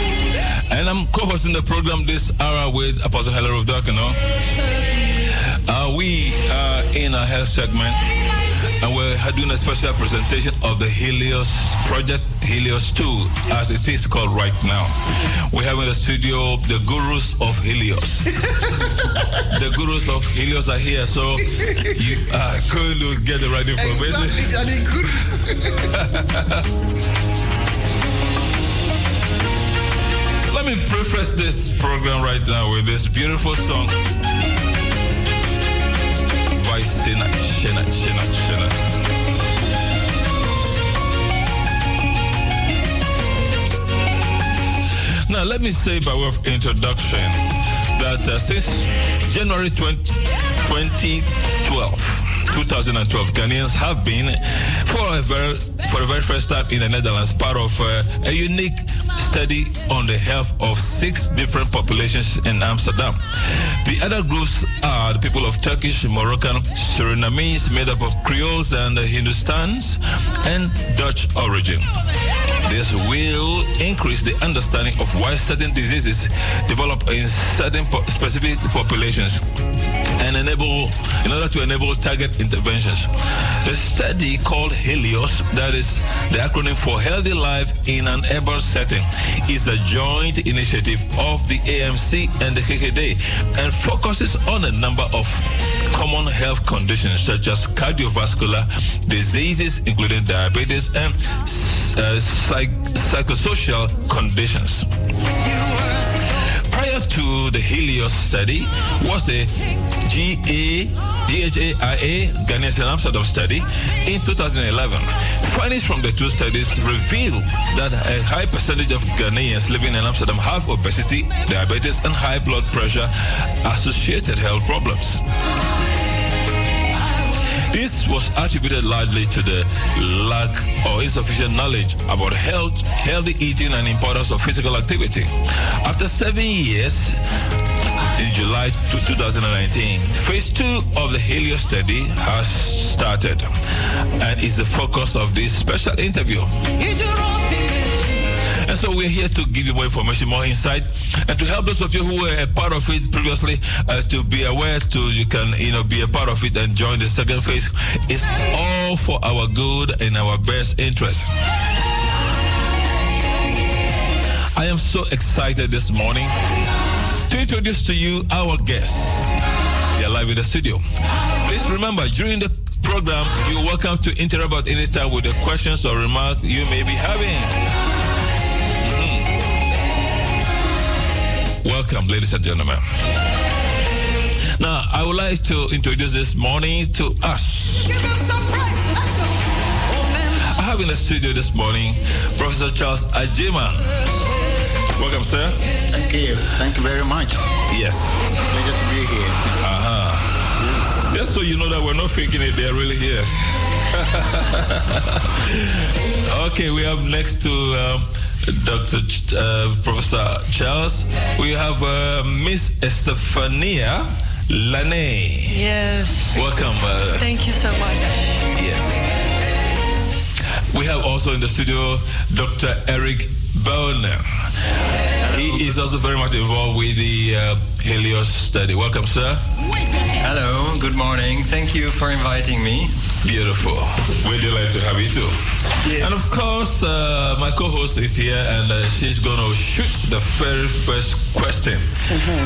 and I'm co-hosting the program this hour with Apostle Hilary of Dokino. Uh, we are in a health segment, and we're doing a special presentation of the Helios project, Helios two, as it is called right now. We have in the studio the gurus of Helios. The gurus of Helios are here, so you are going to get the right information. Exactly, gurus. Let me preface this program right now with this beautiful song by Shena, Shena, Shena, Shena. Now, let me say by way of introduction that uh, since January twentieth, twenty twelve. twenty twelve, Ghanaians have been, for a very, for the very first time in the Netherlands, part of uh, a unique study on the health of six different populations in Amsterdam. The other groups are the people of Turkish, Moroccan, Surinamese, made up of Creoles and Hindustans, and Dutch origin. This will increase the understanding of why certain diseases develop in certain po- specific populations and enable, in order to enable target interventions. The study called HELIOS, that is the acronym for Healthy Life in an Urban Setting, is a joint initiative of the A M C and the K K D and focuses on a number of common health conditions such as cardiovascular diseases, including diabetes, and uh, psych- psychosocial conditions. Prior to the HELIOS study was the G A G H A I A Ghanaians in Amsterdam study in two thousand eleven. Findings from the two studies reveal that a high percentage of Ghanaians living in Amsterdam have obesity, diabetes, and high blood pressure associated health problems. This was attributed largely to the lack or insufficient knowledge about health, healthy eating, and importance of physical activity. After seven years, in July two thousand nineteen, phase two of the HELIOS study has started and is the focus of this special interview. And so we're here to give you more information, more insight, and to help those of you who were a part of it previously uh, to be aware, to you can you know be a part of it and join the second phase. It's all for our good and our best interest. I am so excited this morning to introduce to you our guests. They are live in the studio. Please remember, during the program, you're welcome to interrupt at any time with the questions or remarks you may be having. Welcome, ladies and gentlemen. Now, I would like to introduce this morning to us. I have in the studio this morning Professor Charles Agyemang. Welcome, sir. Thank you. Thank you very much. Yes. Pleasure to be here. Uh-huh. Yes. Just so you know that we're not faking it, they're really here. Okay, we have next to um, Doctor Ch- uh, Professor Charles, we have uh, Miss Estefania Lane. Yes. Welcome. Uh, Thank you so much. Yes. We have also in the studio Doctor Eric Bellner. He is also very much involved with the uh, HELIOS study. Welcome, sir. Hello, good morning. Thank you for inviting me. Beautiful. We're delighted to have you too. Yes. And of course, uh, my co-host is here and uh, she's going to shoot the very first question. Mm-hmm.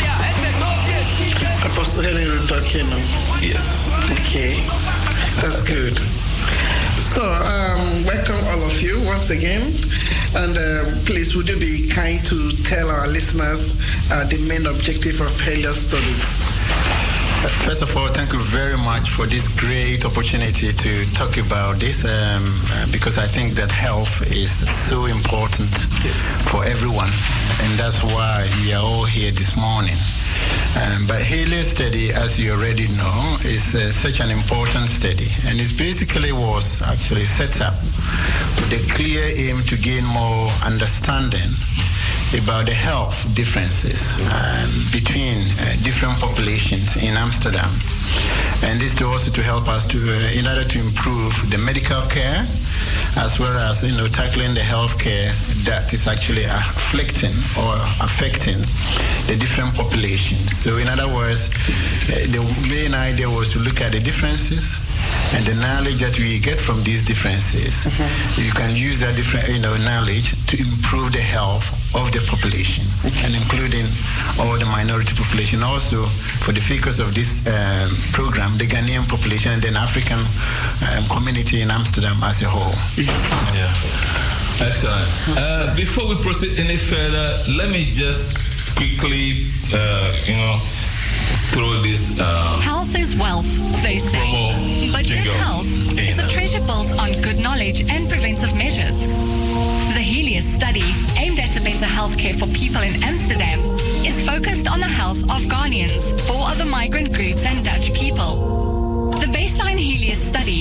Apostle Helen talking. Yes. Okay, that's good. So, um, welcome all of you once again. And uh, please, would you be kind to tell our listeners uh, the main objective of HELIOS studies? First of all, thank you very much for this great opportunity to talk about this um, because I think that health is so important yes. for everyone, and that's why we are all here this morning. Um, but HELIOS study, as you already know, is uh, such an important study, and it basically was actually set up with a clear aim to gain more understanding about the health differences um, between uh, different populations in Amsterdam. And this to also to help us to, uh, in order to improve the medical care, as well as, you know, tackling the health care that is actually afflicting or affecting the different populations. So in other words, uh, the main idea was to look at the differences and the knowledge that we get from these differences. Mm-hmm. You can use that different, you know, knowledge to improve the health of the population, okay. and including all the minority population. Also, for the focus of this um, program, the Ghanaian population and then African um, community in Amsterdam as a whole. Yeah, excellent. Uh, before we proceed any further, let me just quickly, uh, you know, throw this. Uh, health is wealth, they say. But good health is a treasure built on good knowledge and preventive measures. The HELIOS study, aimed at a better healthcare for people in Amsterdam, is focused on the health of Ghanaians, four other migrant groups and Dutch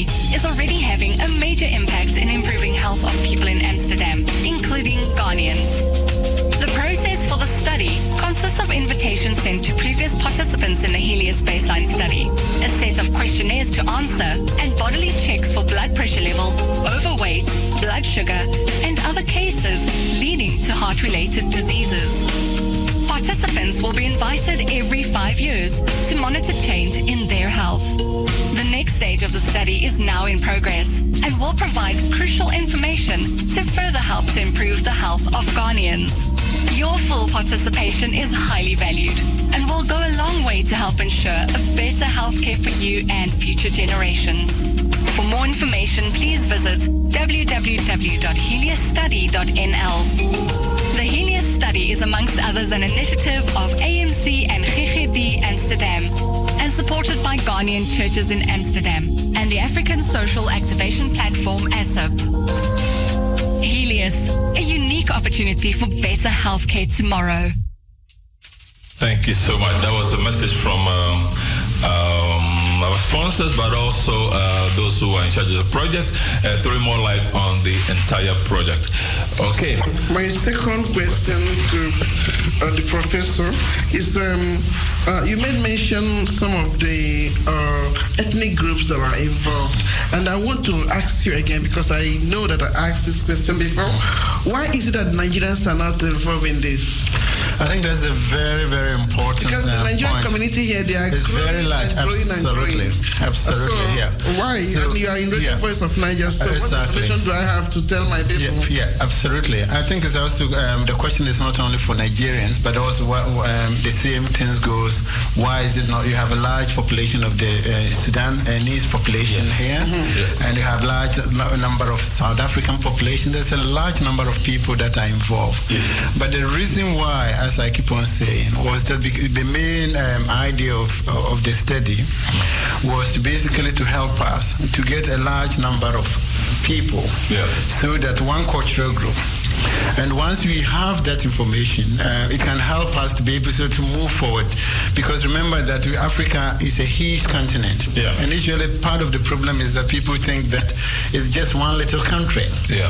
study is already having a major impact in improving health of people in Amsterdam, including Ghanaians. The process for the study consists of invitations sent to previous participants in the Helios baseline study, a set of questionnaires to answer, and bodily checks for blood pressure level, overweight, blood sugar, and other cases leading to heart-related diseases. Participants will be invited every five years to monitor change in their health. The next stage of the study is now in progress and will provide crucial information to further help to improve the health of Ghanaians. Your full participation is highly valued and will go a long way to help ensure a better healthcare for you and future generations. For more information, please visit w w w dot helios study dot n l. The Helios Study is amongst others an initiative of A M C and G G D Amsterdam and supported by Ghanaian churches in Amsterdam and the African Social Activation Platform A S A P. Helios, a unique opportunity for better healthcare tomorrow. Thank you so much. That was a message from um, um, our sponsors, but also uh, those who are in charge of the project, uh, throwing more light on the entire project. Okay. My second question to uh, the professor is, um, uh, you made mention some of the uh, ethnic groups that are involved, and I want to ask you again, because I know that I asked this question before. Why is it that Nigerians are not involved in this? I think that's a very, very important Because the uh, Nigerian point. community here, they are it's growing very large. and growing Absolutely. and growing. Absolutely, so yeah. Why? So, and you are in Radio yeah. Voice of Niger, so Uh, what exactly. information do I have to tell my people? Yeah, yeah, absolutely. I think it's also, um, the question is not only for Nigerians, but also what, um, the same things goes, why is it not, you have a large population of the uh, Sudanese population yeah. here, mm-hmm. yeah. and you have large number of South African population. There's a large number of people that are involved. Yeah. But the reason why, as I keep on saying, was that the main um, idea of, of the study was basically to help us to get a large number of people, yeah. so that one cultural group. And once we have that information, uh, it can help us to be able to, to move forward. Because remember that Africa is a huge continent. Yeah. And usually part of the problem is that people think that it's just one little country. Yeah.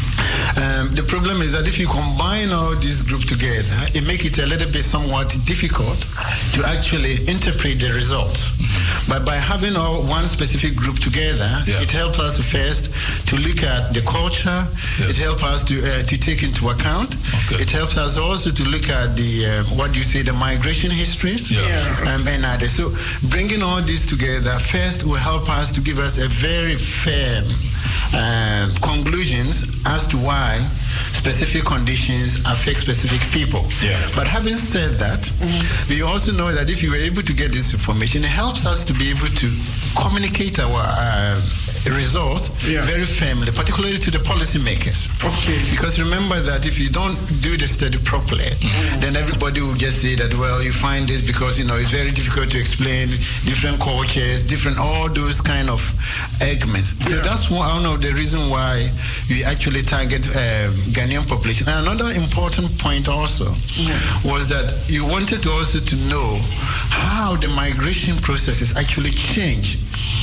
Um, the problem is that if you combine all these groups together, it makes it a little bit somewhat difficult to actually interpret the results. Mm-hmm. But by having all one specific group together, yeah. it helps us first to look at the culture. Yeah. It helps us to uh, to take into account. Okay. It helps us also to look at the uh, what do you say, the migration histories, yeah. Yeah. Um, and others. So bringing all this together first will help us to give us a very firm uh, conclusions as to why specific conditions affect specific people. Yeah. But having said that, mm-hmm. we also know that if you were able to get this information, it helps us to be able to communicate our uh, results yeah. very firmly, particularly to the policymakers. Okay. Because remember that if you don't do the study properly, mm-hmm. then everybody will just say that, well, you find this because, you know, it's very difficult to explain different cultures, different, all those kind of arguments. Yeah. So that's one of the reasons why we actually target uh, Ghanaian population. And another important point also mm-hmm. was that you wanted to also to know how the migration processes actually change,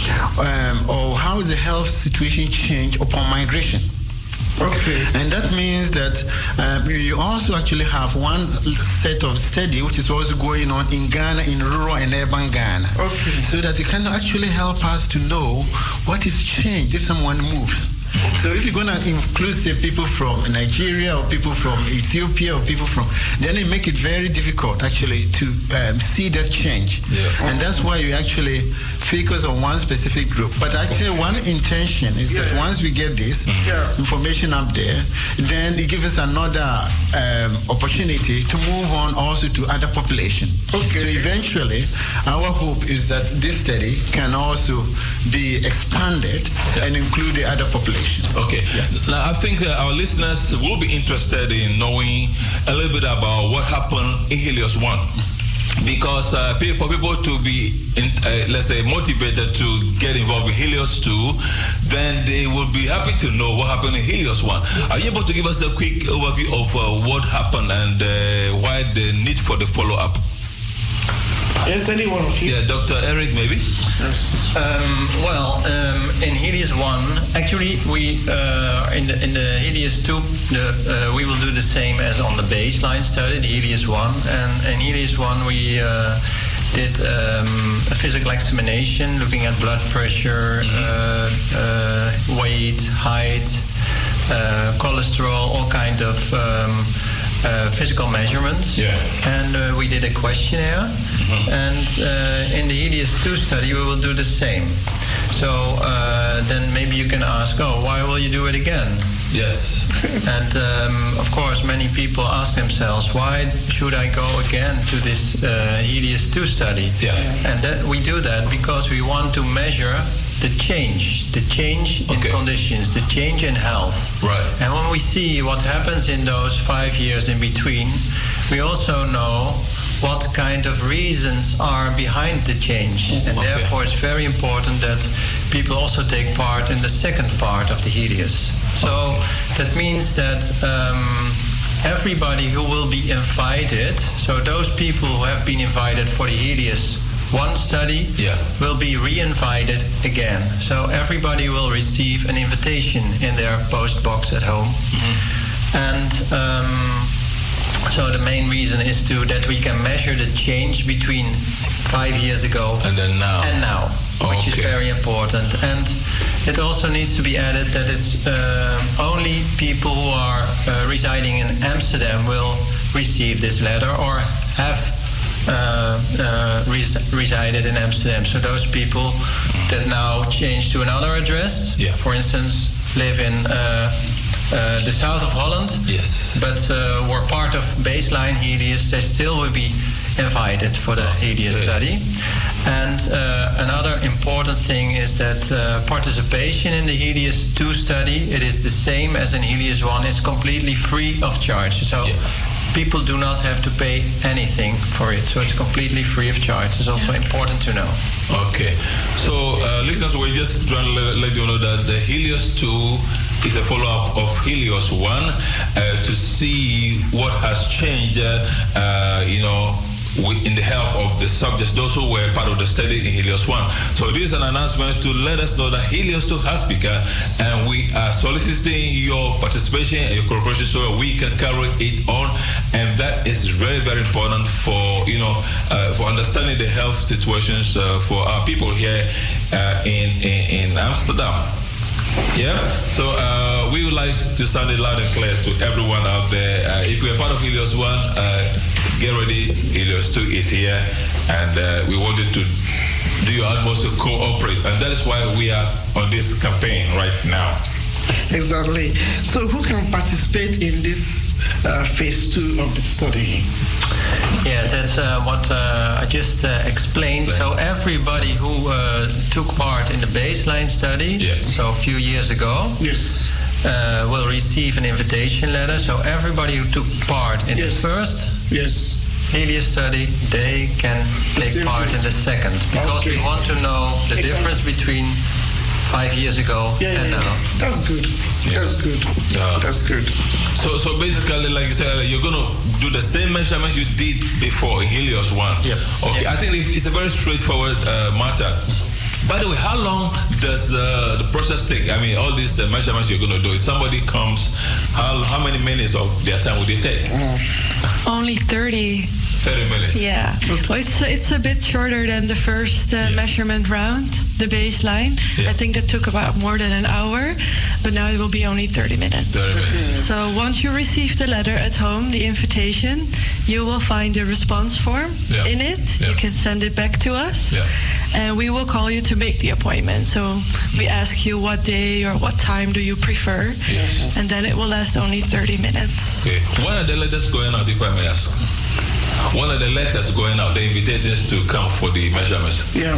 um, or how the health situation change upon migration. Okay. And that means that um, you also actually have one set of study which is also going on in Ghana, in rural and urban Ghana. Okay. So that it can actually help us to know what is changed if someone moves. So if you're going to include, say, people from Nigeria or people from Ethiopia or people from, then it make it very difficult actually to um, see that change. Yeah. And that's why you actually focus on one specific group. But actually one intention is yeah. that once we get this yeah. information up there, then it gives us another um, opportunity to move on also to other population. Okay. So eventually, our hope is that this study can also be expanded yeah. and include the other population. Okay. Yeah. Now, I think uh, our listeners will be interested in knowing a little bit about what happened in Helios one. Because uh, for people to be, in, uh, let's say, motivated to get involved in Helios two, then they will be happy to know what happened in Helios one. Are you able to give us a quick overview of uh, what happened and uh, why the need for the follow-up? Yes, anyone of you? Yeah, Doctor Eric, maybe? Yes. Um, well, um, in Helios one, actually, we uh, in the in the Helios two, the, uh, we will do the same as on the baseline study, the Helios one, and in Helios one we uh, did um, a physical examination, looking at blood pressure, mm-hmm. uh, uh, weight, height, uh, cholesterol, all kind of um, uh, physical measurements. Yeah. And uh, we did a questionnaire. Mm-hmm. And uh, in the Helios two study, we will do the same. So uh, then maybe you can ask, oh, why will you do it again? Yes. And um, of course, many people ask themselves, why should I go again to this uh, Helios two study? Yeah. And that we do that because we want to measure the change, the change in okay. conditions, the change in health. Right. And when we see what happens in those five years in between, we also know what kind of reasons are behind the change. And okay. therefore it's very important that people also take part in the second part of the Helios. So okay. that means that um, everybody who will be invited, so those people who have been invited for the Helios one study yeah. will be re-invited again. So everybody will receive an invitation in their post box at home. Mm-hmm. And um, so the main reason is to that we can measure the change between five years ago and then now, and now oh, which okay. is very important. And it also needs to be added that it's uh, only people who are uh, residing in Amsterdam will receive this letter or have uh, uh, res- resided in Amsterdam. So those people that now change to another address, yeah. for instance, live in uh, uh, the south of Holland, yes, but uh, were part of baseline Helios, they still will be invited for the Helios okay. study. And uh, another important thing is that uh, participation in the Helios two study, it is the same as in Helios one. It's completely free of charge. So yeah. people do not have to pay anything for it. So it's completely free of charge. It's also yeah. important to know. Okay. So, uh, listeners, we're just trying to let, let you know that the Helios two is a follow-up of Helios one uh, to see what has changed, uh, uh, you know, in the health of the subjects, those who were part of the study in Helios one. So this is an announcement to let us know that Helios two has begun, and we are soliciting your participation and your cooperation so we can carry it on. And that is very, very important for, you know, uh, for understanding the health situations uh, for our people here uh, in, in, in Amsterdam. Yeah, so uh, we would like to sound it loud and clear to everyone out there. Uh, if you are part of Helios one, uh, get ready. Helios two is here, and uh, we wanted to do your utmost to cooperate, and that is why we are on this campaign right now. Exactly. So, who can participate in this uh, phase two of the study? Yes, that's uh, what uh, I just uh, explained. So everybody who uh, took part in the baseline study, yes. so a few years ago, yes. uh, will receive an invitation letter. So everybody who took part in yes. the first yes. Helios study, they can take Simply. part in the second. Because okay. we want to know the it difference comes. between five years ago yeah, and yeah, now. Yeah. That's good. Yeah. That's good. Yeah. That's good. So, so basically, like you said, you're going to do the same measurements you did before in Helios one. Yep. Okay. Yep. I think it's a very straightforward uh, matter. By the way, how long does uh, the process take? I mean, all these uh, measurements you're going to do. If somebody comes, how how many minutes of their time would they take? Mm. Only thirty. thirty minutes. Yeah. Well, it's it's a bit shorter than the first uh, yeah. measurement round, the baseline. Yeah. I think that took about more than an hour, but now it will be only thirty minutes. thirty minutes. So once you receive the letter at home, the invitation, you will find a response form yeah. in it. Yeah. You can send it back to us, yeah. and we will call you to make the appointment. So we ask you what day or what time do you prefer, yes. and then it will last only thirty minutes. Okay. When are the letters going out, if I may ask? One of the letters going out, the invitations to come for the measurements. Yeah, when?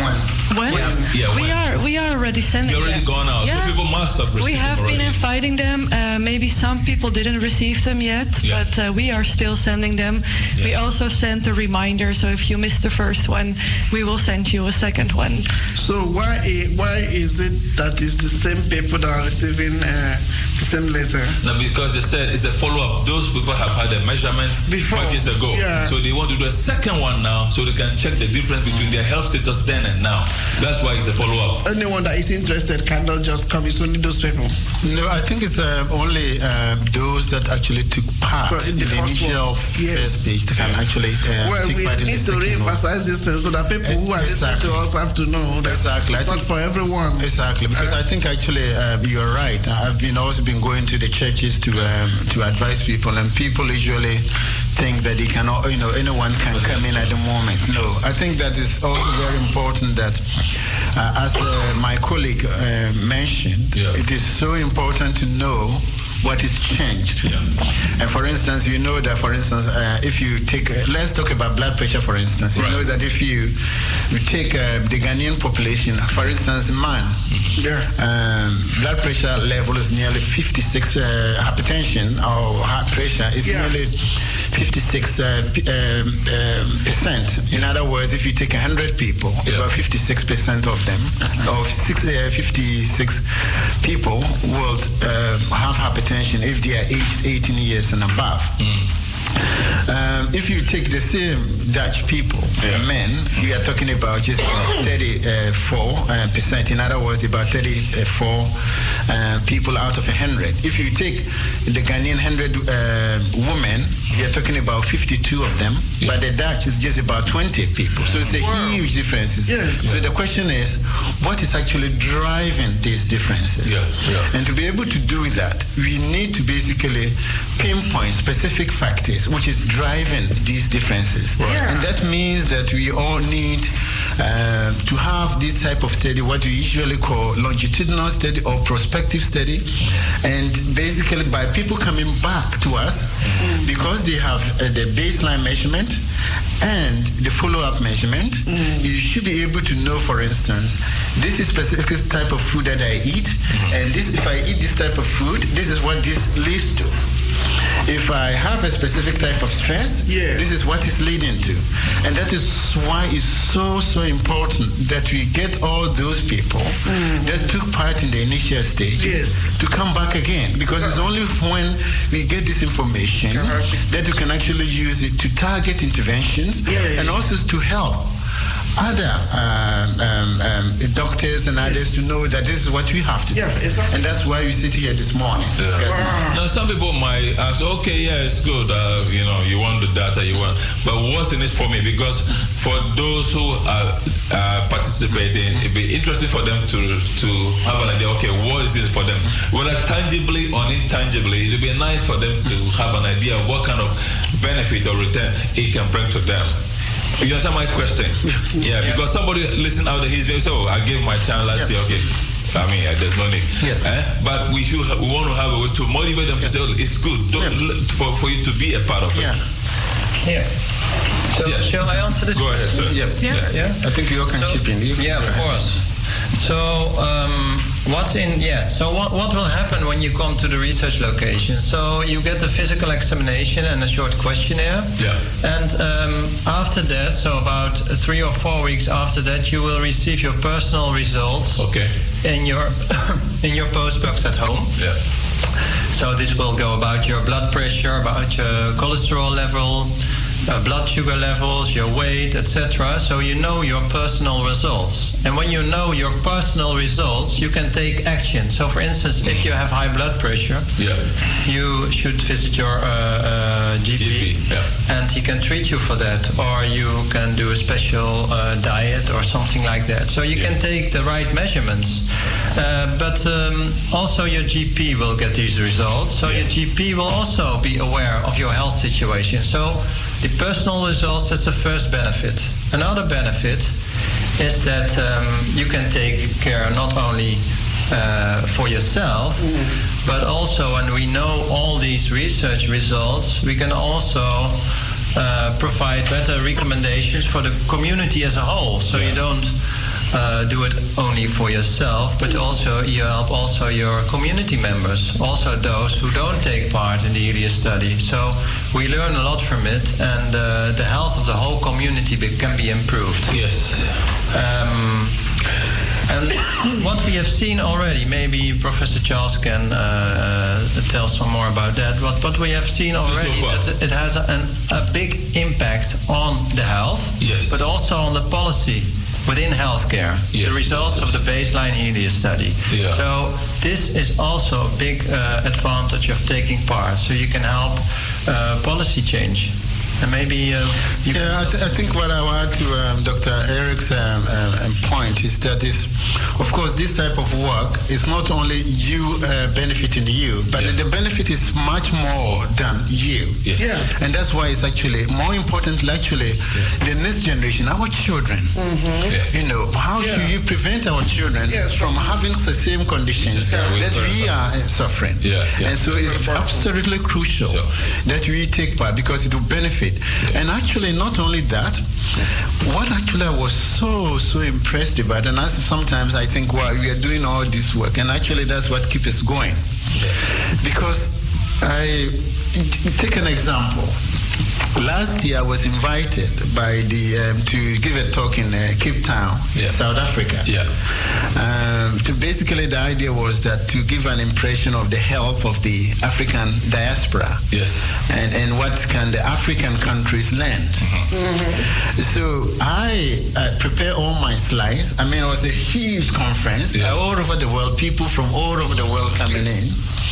When? Yeah, yeah, we when? are we are already sending You're already them. gone out. Yeah. So people must have received We have them been already. inviting them. Uh, maybe some people didn't receive them yet, Yeah. but uh, we are still sending them. Yeah. We also sent a reminder, so if you missed the first one, we will send you a second one. So why i- why is it that it's the same people that are receiving uh, the same letter? No, because they said it's a follow-up. Those people have had a measurement Before. five years ago. Yeah. So they want to do a second one now so they can check the difference between their health status then and now. That's why it's a follow-up. Anyone that is interested cannot just come. It's only those people. No, I think it's um, only um, those that actually took part But in in the, the first initial one, yes. first stage that can actually uh, Well, take we part in the need to second one. re-emphasize this thing so that people who are listening Exactly. to us have to know that Exactly. it's I not think- for everyone. Exactly, because I think actually uh, you're right. I've been also been going to the churches to um, to advise people, and people usually think that they cannot, you know, anyone can come in at the moment. No, I think that is also very important that, uh, as uh, my colleague uh, mentioned, Yeah. it is so important to know what is changed. Yeah. And for instance, you know that, for instance, uh, if you take, uh, let's talk about blood pressure, for instance. You Right. know that if you, you take uh, the Ghanaian population, for instance, man, Yeah. um, blood pressure level is nearly fifty-six, uh, hypertension or heart pressure is Yeah. nearly fifty-six uh, p- um, um, percent. In other words, if you take one hundred people, Yeah. about fifty-six percent of them, or six, uh, fifty-six people will um, have hypertension if they are aged eighteen years and above. Um, if you take the same Dutch people, Yeah. men, we are talking about just thirty-four percent. In other words, about thirty-four uh, people out of a hundred. If you take the Ghanaian hundred uh, women, we are talking about fifty-two of them. Yeah. But the Dutch is just about twenty people. So it's a Wow. huge difference. Yes. So the question is, what is actually driving these differences? Yeah, yeah. And to be able to do that, we need to basically pinpoint specific factors which is driving these differences. Yeah. And that means that we all need uh, to have this type of study, what we usually call longitudinal study or prospective study. And basically by people coming back to us, because they have uh, the baseline measurement and the follow-up measurement, you should be able to know, for instance, this is specific type of food that I eat, and this, if I eat this type of food, this is what this leads to. If I have a specific type of stress, Yeah. this is what it's leading to. And that is why it's so, so important that we get all those people that took part in the initial stage Yes. to come back again. Because it's only when we get this information Correct. that we can actually use it to target interventions Yeah, yeah, and yeah. also to help other um, um, um, doctors and others to know that this is what we have to Yeah, do. exactly. And that's why we sit here this morning. discussing. Now, some people might ask, okay, yeah, it's good. Uh, you know, you want the data, you want, but what's in it for me? Because for those who are uh, participating, it'd be interesting for them to to have an idea. Okay, what is it for them? Whether tangibly or intangibly, it'd be nice for them to have an idea of what kind of benefit or return it can bring to them. You understand my question? Yeah, because somebody listening out there, he's saying, so I gave my child last year, okay. I mean, uh, there's no need. Yeah. Eh? But we should ha- we want to have a way to motivate them to say, oh, it's good Don't, Yeah. l- for, for you to be a part of it. Yeah. Yeah. So, Yeah. shall I answer this Go ahead, sir. Yeah. Yeah. Yeah. I think you all can So- chip in. You- Yeah, of course. So, um, what's in, yes, so what, what will happen when you come to the research location? So, you get a physical examination and a short questionnaire. Yeah. And um, after that, so about three or four weeks after that, you will receive your personal results Okay. in your in your postbox at home. Yeah. So this will go about your blood pressure, about your cholesterol level, uh, blood sugar levels, your weight, et cetera. So you know your personal results. And when you know your personal results, you can take action. So for instance, if you have high blood pressure, Yeah. you should visit your uh, uh, G P, G P, yeah. and he can treat you for that, or you can do a special uh, diet or something like that. So you Yeah. can take the right measurements, uh, but um, also your G P will get these results. So Yeah. your G P will also be aware of your health situation. So the personal results, that's the first benefit. Another benefit is that um, you can take care not only uh, for yourself, but also when we know all these research results, we can also uh, provide better recommendations for the community as a whole. So Yeah. you don't uh, do it only for yourself, but also you help also your community members, also those who don't take part in the Helios study. So we learn a lot from it, and uh, the health of the whole community be- can be improved. Yes. Um, and what we have seen already, maybe Professor Charles can uh, uh, tell some more about that. What what we have seen already, so that it has an, a big impact on the health, yes, but also on the policy within healthcare. Yes. The results of the baseline Helios study. Yeah. So this is also a big uh, advantage of taking part. So you can help uh, policy change. And maybe uh, you yeah, I, th- I think what I want to um, Doctor Eric's um, um, point is that is, of course, this type of work is not only you uh, benefiting you, but yeah. the benefit is much more than you. Yes. Yeah. And that's why it's actually more important. Actually, yeah. the next generation, our children. Mm-hmm. Yeah. You know, how yeah. do you prevent our children yes. from having the same conditions yeah. that we are suffering? Yeah. Yeah. And so it's absolutely crucial so. that we take part, because it will benefit. Yeah. And actually, not only that, what actually I was so, so impressed about, and as sometimes I think, well, we are doing all this work, and actually that's what keeps us going. Yeah. Because I, take an example. Last year I was invited by the um, to give a talk in uh, Cape Town, yeah. South Africa. Yeah. Um, to basically the idea was that to give an impression of the health of the African diaspora. Yes. And and what can the African countries learn. Mm-hmm. Mm-hmm. So I uh, prepare all my slides. I mean, it was a huge conference, yeah. all over the world, people from all over the world coming in.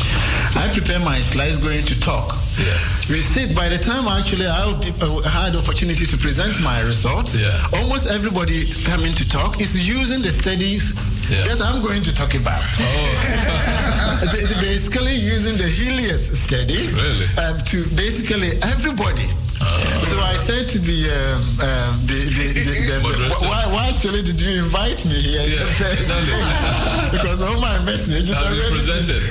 I prepare my slides going to talk. Yeah. We said by the time actually I had opportunity to present my results, yeah. almost everybody coming to talk is using the studies yeah. that I'm going to talk about. Oh. they, they basically using the Helios study really? um, to basically everybody. Uh, so I said to the, um, um, the, the, the, the, the why, why actually did you invite me here? Yeah, exactly. Because all my messages are already presented.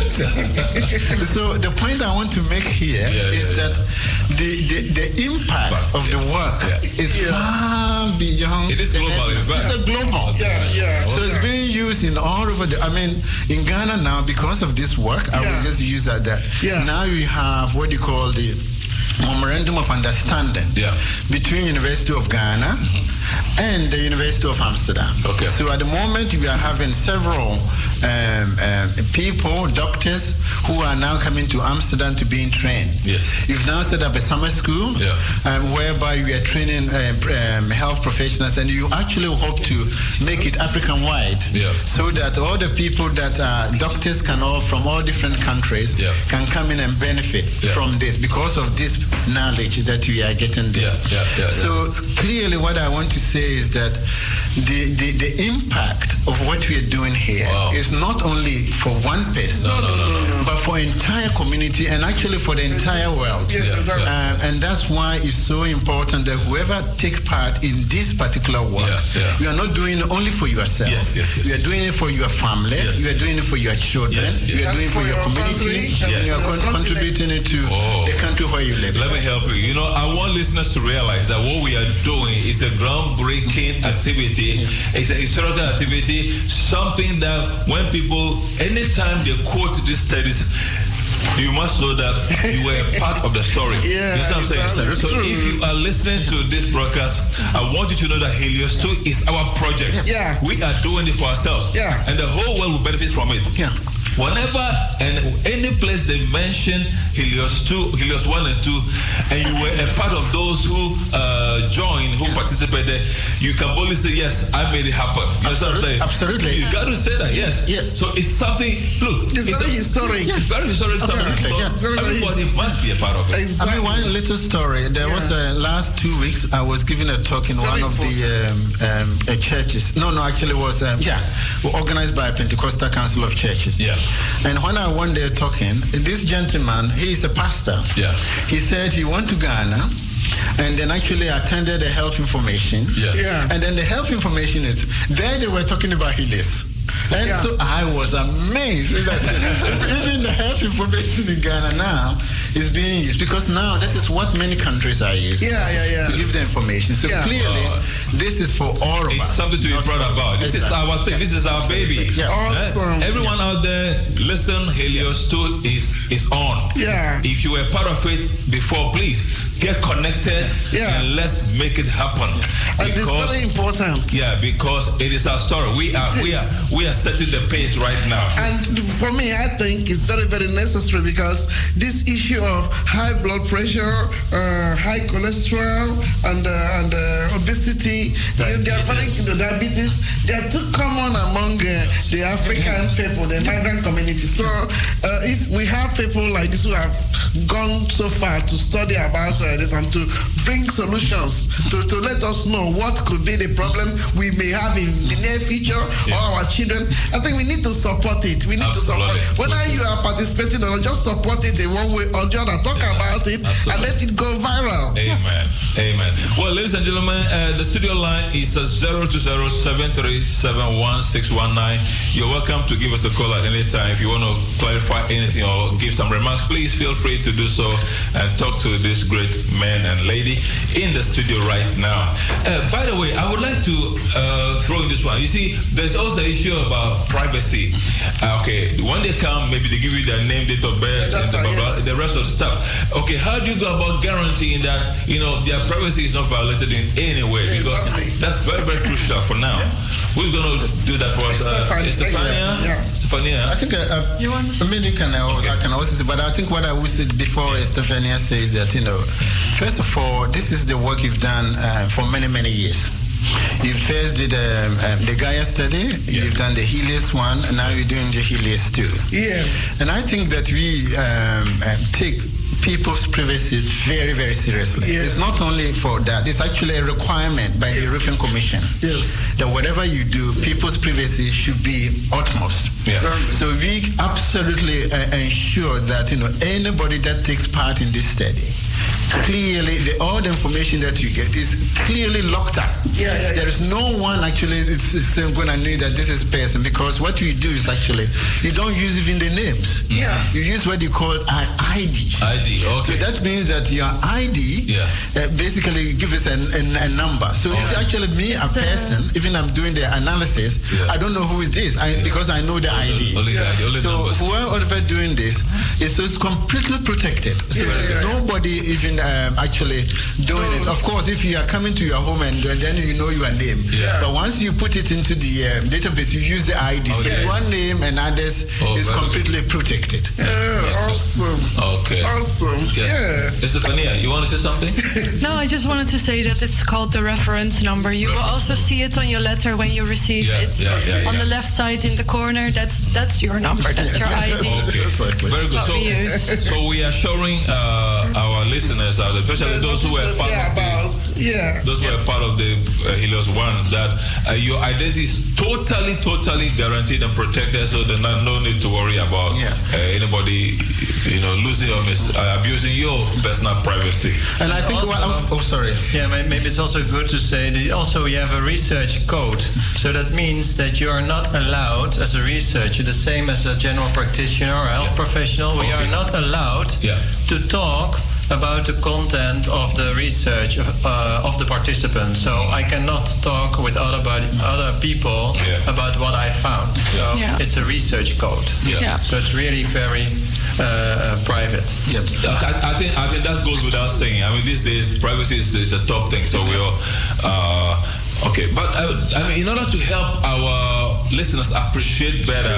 presented. So the point I want to make here yeah, is yeah, that yeah. The, the, the impact but, of yeah. the work yeah. is yeah. far beyond. It is global. It's a global. Yeah, yeah. So okay. it's being used in all over the. I mean, in Ghana now, because of this work, I yeah. will just use that. that. Yeah. Now we have what you call the Memorandum of Understanding yeah. between University of Ghana mm-hmm. and the University of Amsterdam. Okay. So at the moment we are having several um, um, people, doctors, who are now coming to Amsterdam to be trained. Yes. You've now set up a summer school yeah. um, whereby we are training uh, um, health professionals, and you actually hope to make it African-wide yeah. so that all the people that are doctors can all from all different countries yeah. can come in and benefit yeah. from this because of this knowledge that we are getting there. Yeah, yeah, yeah, so yeah. clearly what I want to say is that the, the, the impact of what we are doing here wow. is not only for one person, no, no, no, no. but for entire community and actually for the entire world. Yes, yeah, exactly. uh, and that's why it's so important that whoever takes part in this particular work, yeah, yeah. you are not doing it only for yourself. Yes, yes, yes, you are doing it for your family. Yes. You are doing it for your children. Yes, yes. You are doing it for, for your, your community. Yes. And you are con- contributing it to oh. the country where you live. Let me help you. You know, I want listeners to realize that what we are doing is a groundbreaking activity. It's a historical activity, something that when people, anytime they quote these studies, you must know that you were part of the story. Yeah, you know what I'm saying? So true. if you are listening to this broadcast, I want you to know that Helios two is our project. Yeah. We are doing it for ourselves. Yeah. And the whole world will benefit from it. Yeah. Whenever and any place they mention Helios two, Helios one and two, and you were a part of those who uh, joined, who yeah. participated, you can boldly say, yes, I made it happen. You know what I'm saying? Absolutely. You got to say that, yes. Yeah. So it's something, look. It's, it's very a, historic. Yeah, very historic something. So yeah. everybody must be a part of it. Exactly. I mean, one little story. There yeah. was a last two weeks, I was giving a talk in very one of important. the um, um, uh, churches. No, no, actually it was, um, yeah, organized by Pentecostal Council of Churches. Yeah. And when I went there talking, this gentleman, he is a pastor. Yeah. He said he went to Ghana and then actually attended the health information. Yeah. Yeah. And then the health information is, there they were talking about Helios. And yeah. so I was amazed that even the health information in Ghana now is being used, because now that is what many countries are using. Yeah, yeah, yeah. To give the information. So yeah. clearly, uh, this is for all of it's us. It's something to be proud about. This exactly. is our thing. This is our baby. Yeah. Awesome. Eh? Everyone out there, listen, Helios two is, is on. Yeah. If you were part of it before, please get connected yeah. and let's make it happen. And it's very important. Yeah, because it is our story. We are we are we are setting the pace right now. And for me, I think it's very very necessary, because this issue of high blood pressure, uh, high cholesterol, and uh, and uh, obesity, they, they are very the diabetes. They are too common among uh, the African people, the migrant community. So uh, if we have people like this who have gone so far to study about uh, this and to bring solutions to, to let us know what could be the problem we may have in the near future yeah. or our children, I think we need to support it. We need Absolutely. to support. Whether you are participating or not, just support it in one way or the other. Talk yeah. about it Absolutely. and let it go viral. Amen. Amen. Well, ladies and gentlemen, uh, the studio line is zero two zero seven three seven one six one nine. You're welcome to give us a call at any time. If you want to clarify anything or give some remarks, please feel free to do so and talk to this great man and lady in the studio right now. Uh, by the way, I would like to uh, throw in this one. You see, there's also the issue about privacy. Uh, okay, when they come, maybe they give you their name, date of birth, and the, blah, blah, yes. the rest of the stuff. Okay, how do you go about guaranteeing that, you know, their privacy is not violated in any way? Because exactly. that's very, very crucial for now. Who's going to do that for us? Uh, Stefania? Yeah. Stefania? I think uh, uh, you want to maybe can I, okay. I can also say, but I think what I would say before yeah. Stefania says that, you know, first of all, this is the work you've done uh, for many, many years. You first did um, um, the Gaia study, yeah. you've done the Helios one, and now you're doing the Helios two. Yeah. And I think that we um, um, take people's privacy very, very seriously. Yeah. It's not only for that, it's actually a requirement by the European Commission yes. that whatever you do, people's privacy should be utmost. Yeah. So we absolutely uh, ensure that, you know, anybody that takes part in this study, clearly, the, all the information that you get is clearly locked up. Yeah, yeah, there yeah. is no one actually is, is going to know that this is a person, because what you do is actually, you don't use even the names. Yeah. You use what you call an I D. I D, okay. So that means that your I D yeah. uh, basically gives us a, a, a number. So okay. if actually me, it's a person, uh, even I'm doing the analysis, yeah. I don't know who is this I, yeah. because I know the only, I D. Only, yeah. only so whoever doing this is so it's completely protected. So yeah, yeah, nobody even um, actually doing no. it. Of course, if you are coming to your home and uh, then you know your name. Yeah. But once you put it into the um, database, you use the I D. Oh, so yes. one name and others oh, is completely good. protected. Yeah, awesome. Okay. Awesome. Yes. Yeah. Stefania, you want to say something? No, I just wanted to say that it's called the reference number. You will also see it on your letter when you receive yeah, it. Yeah, yeah, on yeah. the left side in the corner, that's that's your number, that's your I D. Okay. Very good. So we, so we are showing uh, our listeners, uh, especially those who were part yeah, of the, yeah. those who were part of the uh, Helios One, that uh, your identity is totally, totally guaranteed and protected. So there's not, no need to worry about yeah. uh, anybody, you know, losing or mis- uh, abusing your personal privacy. And I think, also, well, oh, sorry. Yeah, maybe it's also good to say that also we have a research code. So that means that you are not allowed as a researcher, the same as a general practitioner or health yeah. professional, we okay. are not allowed yeah. to talk about the content of the research uh, of the participant. So I cannot talk with other body, other people yeah. about what I found. So yeah. it's a research code. Yeah. Yeah. So it's really very uh, private. Yeah. I, I think I think that goes without saying. I mean, these days privacy is, is a top thing. So we all. Uh, Okay, but uh, I mean, in order to help our listeners appreciate better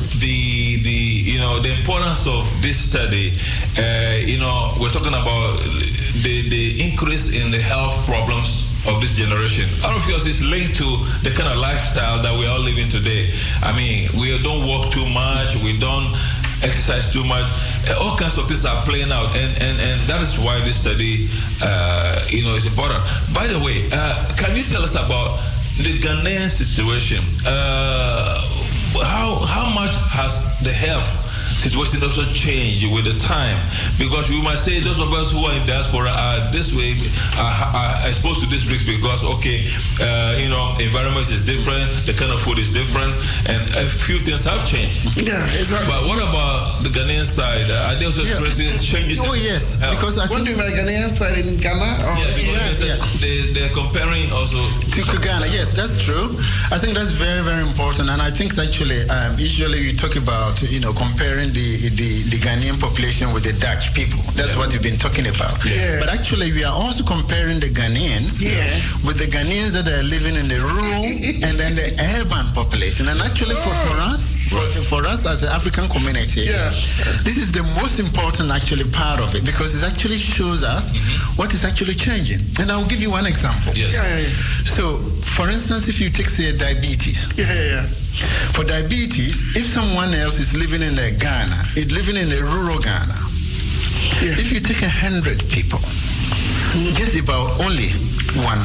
the the you know the importance of this study, uh, you know, we're talking about the the increase in the health problems of this generation. All of yours is linked to the kind of lifestyle that we are living today. I mean, we don't walk too much, we don't exercise too much. All kinds of things are playing out, and, and, and that is why this study, uh, you know, is important. By the way, uh, can you tell us about the Ghanaian situation? Uh, how how much has the health situation also change with the time. Because we might say those of us who are in diaspora are this way, are, are exposed to this risk because, okay, uh, you know, environment is different, the kind of food is different, and a few things have changed. Yeah, exactly. But what about the Ghanaian side? Are they also experiencing yeah. changes? Oh, yes. Health? Because I what do you mean Ghanaian side in Ghana? Or yeah, because yeah, yeah. They, they're comparing also to Ghana. Yes, that's true. I think that's very, very important. And I think actually, um, usually we talk about, you know, comparing the, the, the Ghanaian population with the Dutch people. That's yeah. what we've been talking about. Yeah. But actually, we are also comparing the Ghanaians yeah. with the Ghanaians that are living in the rural and then the urban population. And actually, for, for us, for, for us as an African community, yeah. this is the most important actually part of it because it actually shows us mm-hmm. what is actually changing. And I'll give you one example. Yes. Yeah, yeah, yeah. So, for instance, if you take, say, diabetes. Yeah, yeah, yeah. For diabetes, if someone else is living in a Ghana, is living in a rural Ghana, yeah. if you take a hundred people, mm-hmm. just about only one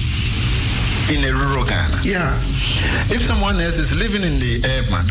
in a rural Ghana. Yeah. If someone else is living in the urban,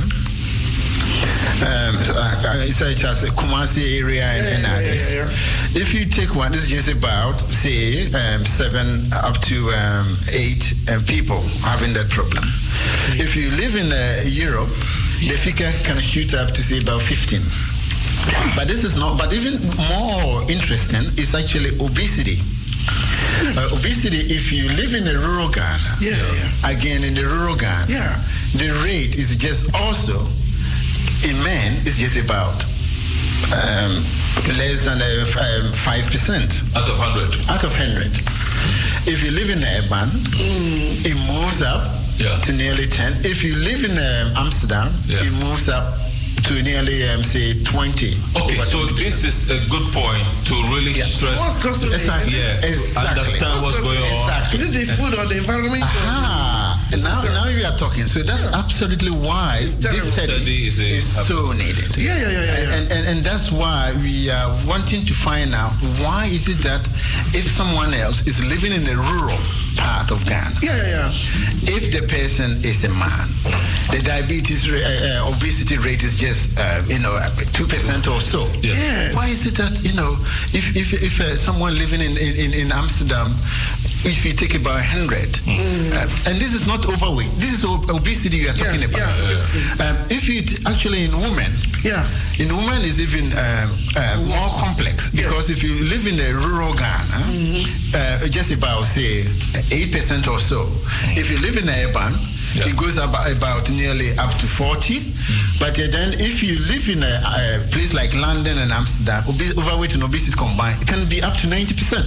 um, such as the Kumasi area and, yeah, and yeah, others, yeah, yeah. if you take one, this is just about, say, um, seven up to um, eight uh, people having that problem. Yeah. If you live in uh, Europe, yeah. the figure can shoot up to, say, about fifteen. But this is not, but even more interesting is actually obesity. Uh, obesity, if you live in the rural Ghana, yeah, yeah. again in the rural Ghana, yeah. the rate is just also, in men, is just about um, less than uh, five percent. Out of one hundred. Out of one hundred. If you live in urban, mm. it moves up yeah. to nearly ten. If you live in um, Amsterdam, yeah. it moves up to nearly, um, say, twenty. Okay, so twenty percent. This is a good point to really yeah. stress. What's causing exactly. Yeah, exactly. understand what's, what's going on. Exactly. Is it the food or the environment? Aha. And now, now you are talking. So that's yeah. absolutely why this study, study is, is so needed. Yeah, yeah, yeah, yeah. And, and, and that's why we are wanting to find out why is it that if someone else is living in a rural part of Ghana, yeah, yeah, yeah. if the person is a man, the diabetes, uh, uh, obesity rate is just, uh, you know, two percent or so. Yeah. Yes. Why is it that, you know, if if, if uh, someone living in, in, in Amsterdam, if you take about one hundred, mm. uh, and this is not overweight, this is ob- obesity you are yeah, talking about. Yeah, yeah. Um, if you t- actually in women, yeah, in women is even um, uh, more complex because yes. if you live in a rural Ghana, mm-hmm. uh, just about say eight percent or so. Mm. If you live in urban, yeah. it goes about, about nearly up to forty. Mm. But uh, then if you live in a, a place like London and Amsterdam, obes- overweight and obesity combined, it can be up to ninety percent.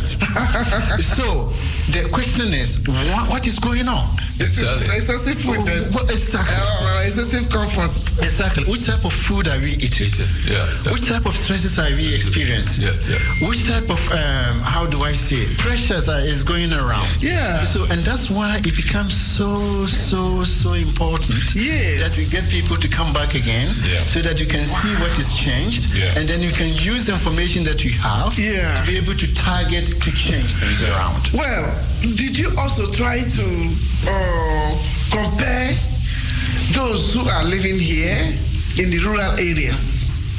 So the question is, what, what is going on? It's excessive food. Oh, what, exactly. Uh, excessive comfort. Exactly. Which type of food are we eating? Yeah. Which type of stresses are we experiencing? Yeah. Yeah. Which type of, um, how do I say, pressures are, is going around? Yeah. So, and that's why it becomes so, so, so important yes. that we get people to come back again yeah. so that you can wow. see what is changed yeah. and then you can use the information that you have yeah. to be able to target to change things around. Well, did you also try to uh, compare those who are living here in the rural areas?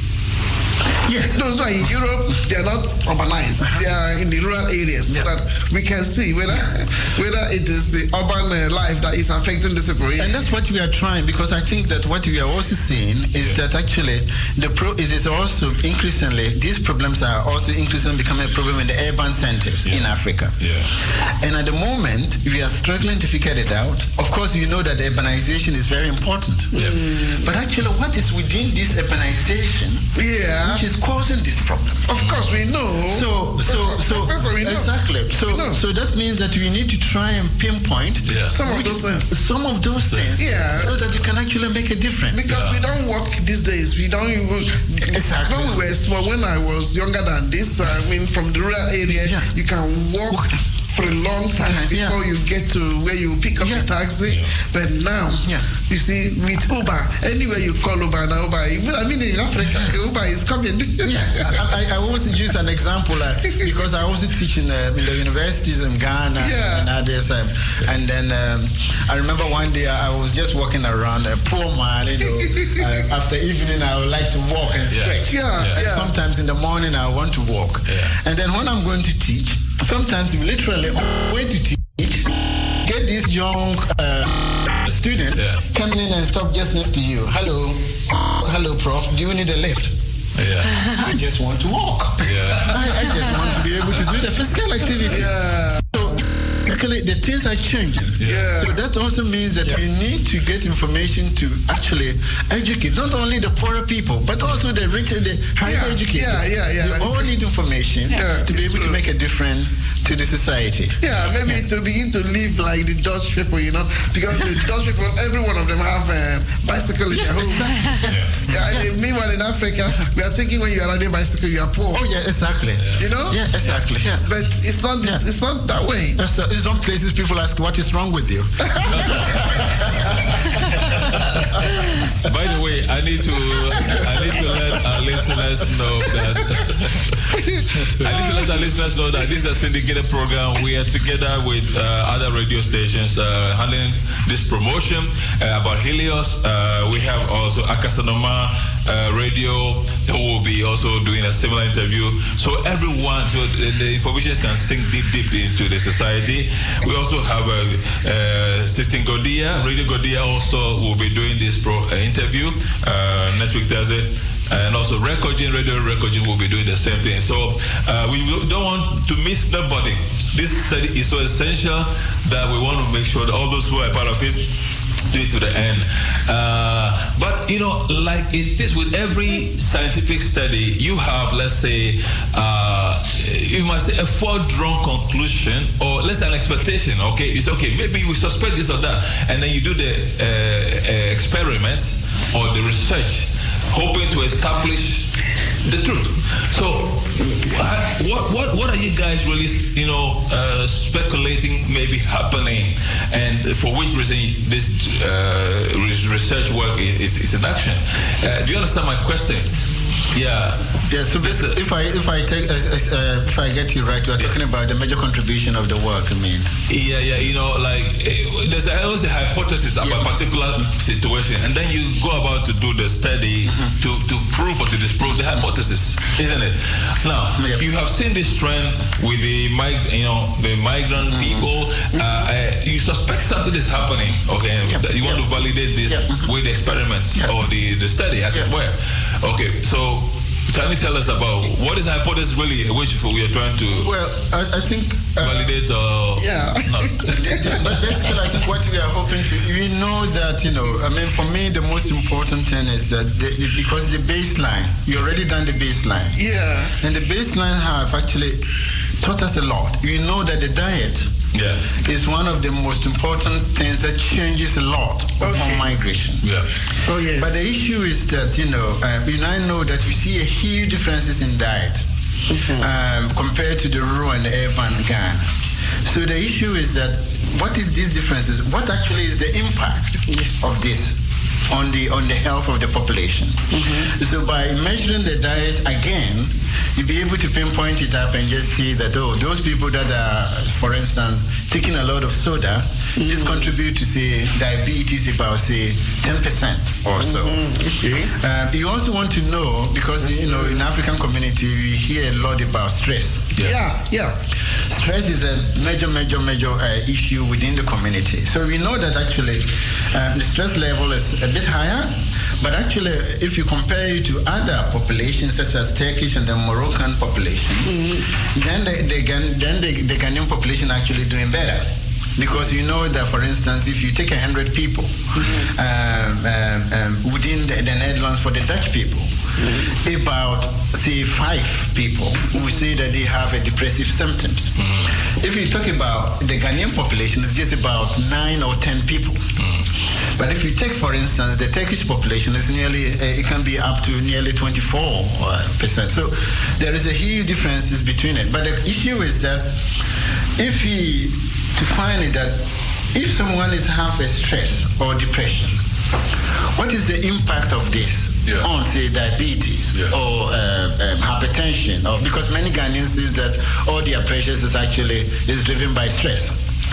Yes, those who are in Europe, they are not urbanized. Uh-huh. They are in the rural areas, yeah. so that we can see whether whether it is the urban uh, life that is affecting the separation. And that's what we are trying, because I think that what we are also seeing is yeah. that actually the pro it is also increasingly these problems are also increasingly becoming a problem in the urban centers yeah. in Africa. Yeah. And at the moment we are struggling to figure it out. Of course, you know that urbanization is very important. Yeah. Mm. But actually, what is within this urbanization? Yeah. Which is causing this problem. Of course, we know. So, so, so, Professor, we know. exactly. So, so that means that we need to try and pinpoint yeah. some of those things. Some of those things, yeah, so that you can actually make a difference. Because yeah. we don't work these days. We don't even. Exactly. When we were small, when I was younger than this, I mean, from the rural area, yeah. you can walk. for a long time before yeah. you get to where you pick up yeah. the taxi. Yeah. But now, yeah. you see, with Uber, anywhere you call Uber now, Uber, even, I mean, in Africa, Uber is coming. yeah, I, I, I always use an example uh, because I also teach in, uh, in the universities in Ghana yeah. and others. Um, and then um, I remember one day I was just walking around, a poor man, you know, uh, after evening I would like to walk and stretch. Yeah. Yeah. And yeah. sometimes in the morning I want to walk. Yeah. And then when I'm going to teach, sometimes you literally on the way to teach, get these young uh, students yeah. coming in and stop just next to you. Hello, hello, Prof. Do you need a lift? Yeah. I just want to walk. Yeah. I, I just want to be able to do the physical activity. Yeah. So actually, the things are changing. Yeah. So that also means that yeah. we need to get information to actually educate not only the poorer people, but also the richer, the higher yeah. educated. Yeah, yeah, yeah. They all need information yeah. to be able true. to make a difference to the society. Yeah, maybe yeah. to begin to live like the Dutch people, you know, because the Dutch people, every one of them have a bicycle in yeah, their home. Exactly. Yeah. Yeah, yeah. Meanwhile, in Africa, we are thinking when you are riding a bicycle, you are poor. Oh yeah, exactly. Yeah. You know? Yeah, exactly. Yeah. But it's not. Yeah. It's not that way. So in some places, people ask, "What is wrong with you?" By the way, I need to I need to let our listeners know that I need to let our listeners know that this is a syndicated program. We are together with uh, other radio stations uh, handling this promotion uh, about Helios. Uh, we have also Akasanoma uh, Radio who will be also doing a similar interview. So everyone, so the, the information can sink deep, deep into the society. We also have a uh, Sitting Godia, Radio Godia also will be doing this pro uh, interview uh, next week Thursday. And also Recording, Radio Recording will be doing the same thing. So uh, we don't want to miss nobody. This study is so essential that we want to make sure that all those who are part of it do it to the end. Uh, but, you know, like it is with every scientific study, you have, let's say, uh, you must say a foredrawn conclusion or let's say an expectation, okay? It's okay, maybe we suspect this or that. And then you do the uh, uh, experiments or the research hoping to establish the truth. So, what what what are you guys really, you know, uh, speculating maybe happening, and for which reason this uh, research work is, is in action? Uh, do you understand my question? Yeah. Yeah. So basically, if I if I take uh, uh, if I get you right, you are talking about the major contribution of the work. I mean. Yeah, yeah. You know, like uh, there's always a hypothesis about yeah. a particular situation, and then you go about to do the study mm-hmm. to to prove or to disprove the hypothesis, isn't it? Now, yeah. you have seen this trend with the mig- you know the migrant mm-hmm. people. Uh, uh, you suspect something is happening. Okay, yeah. you want yeah. to validate this yeah. with the experiments yeah. or the the study, as yeah. it were. Okay, so. Can you tell us about what is the hypothesis really which we are trying to well, I, I think uh, validate or yeah. not? But basically, I think what we are hoping to, we know that, you know, I mean, for me, the most important thing is that the, because the baseline, you already done the baseline. Yeah. And the baseline have actually taught us a lot. We know that the diet yeah. is one of the most important things that changes a lot okay. upon migration. Yeah. Oh, yes. But the issue is that, you know, uh, we now know that we see a huge differences in diet mm-hmm. um, compared to the rural and the urban Ghana. So the issue is that what is these differences? What actually is the impact yes. of this on the on the health of the population? Mm-hmm. So by measuring the diet again, you'll be able to pinpoint it up and just see that, oh, those people that are, for instance, taking a lot of soda, mm-hmm. this contribute to, say, diabetes about, say, ten percent or so. Mm-hmm. Okay. Um, you also want to know, because, you know, in African community, we hear a lot about stress. Yeah, yeah. yeah. Stress is a major, major, major uh, issue within the community. So we know that actually um, the stress level is a bit higher. But actually, if you compare it to other populations, such as Turkish and the Moroccan population, mm-hmm. then, the, the, then the, the Ghanaian population actually doing better. Because you know that, for instance, if you take one hundred people mm-hmm. um, um, um, within the, the Netherlands for the Dutch people, mm-hmm. about, say, five people who say that they have a depressive symptoms. Mm-hmm. If you talk about the Ghanaian population, it's just about nine or ten people. Mm-hmm. But if you take, for instance, the Turkish population, is nearly uh, it can be up to nearly twenty-four percent. So there is a huge differences between it. But the issue is that if we to find it that if someone is half a stress or depression, what is the impact of this yeah. on, say, diabetes yeah. or uh, um, hypertension? Or because many Ghanaians is that all their pressures is actually is driven by stress.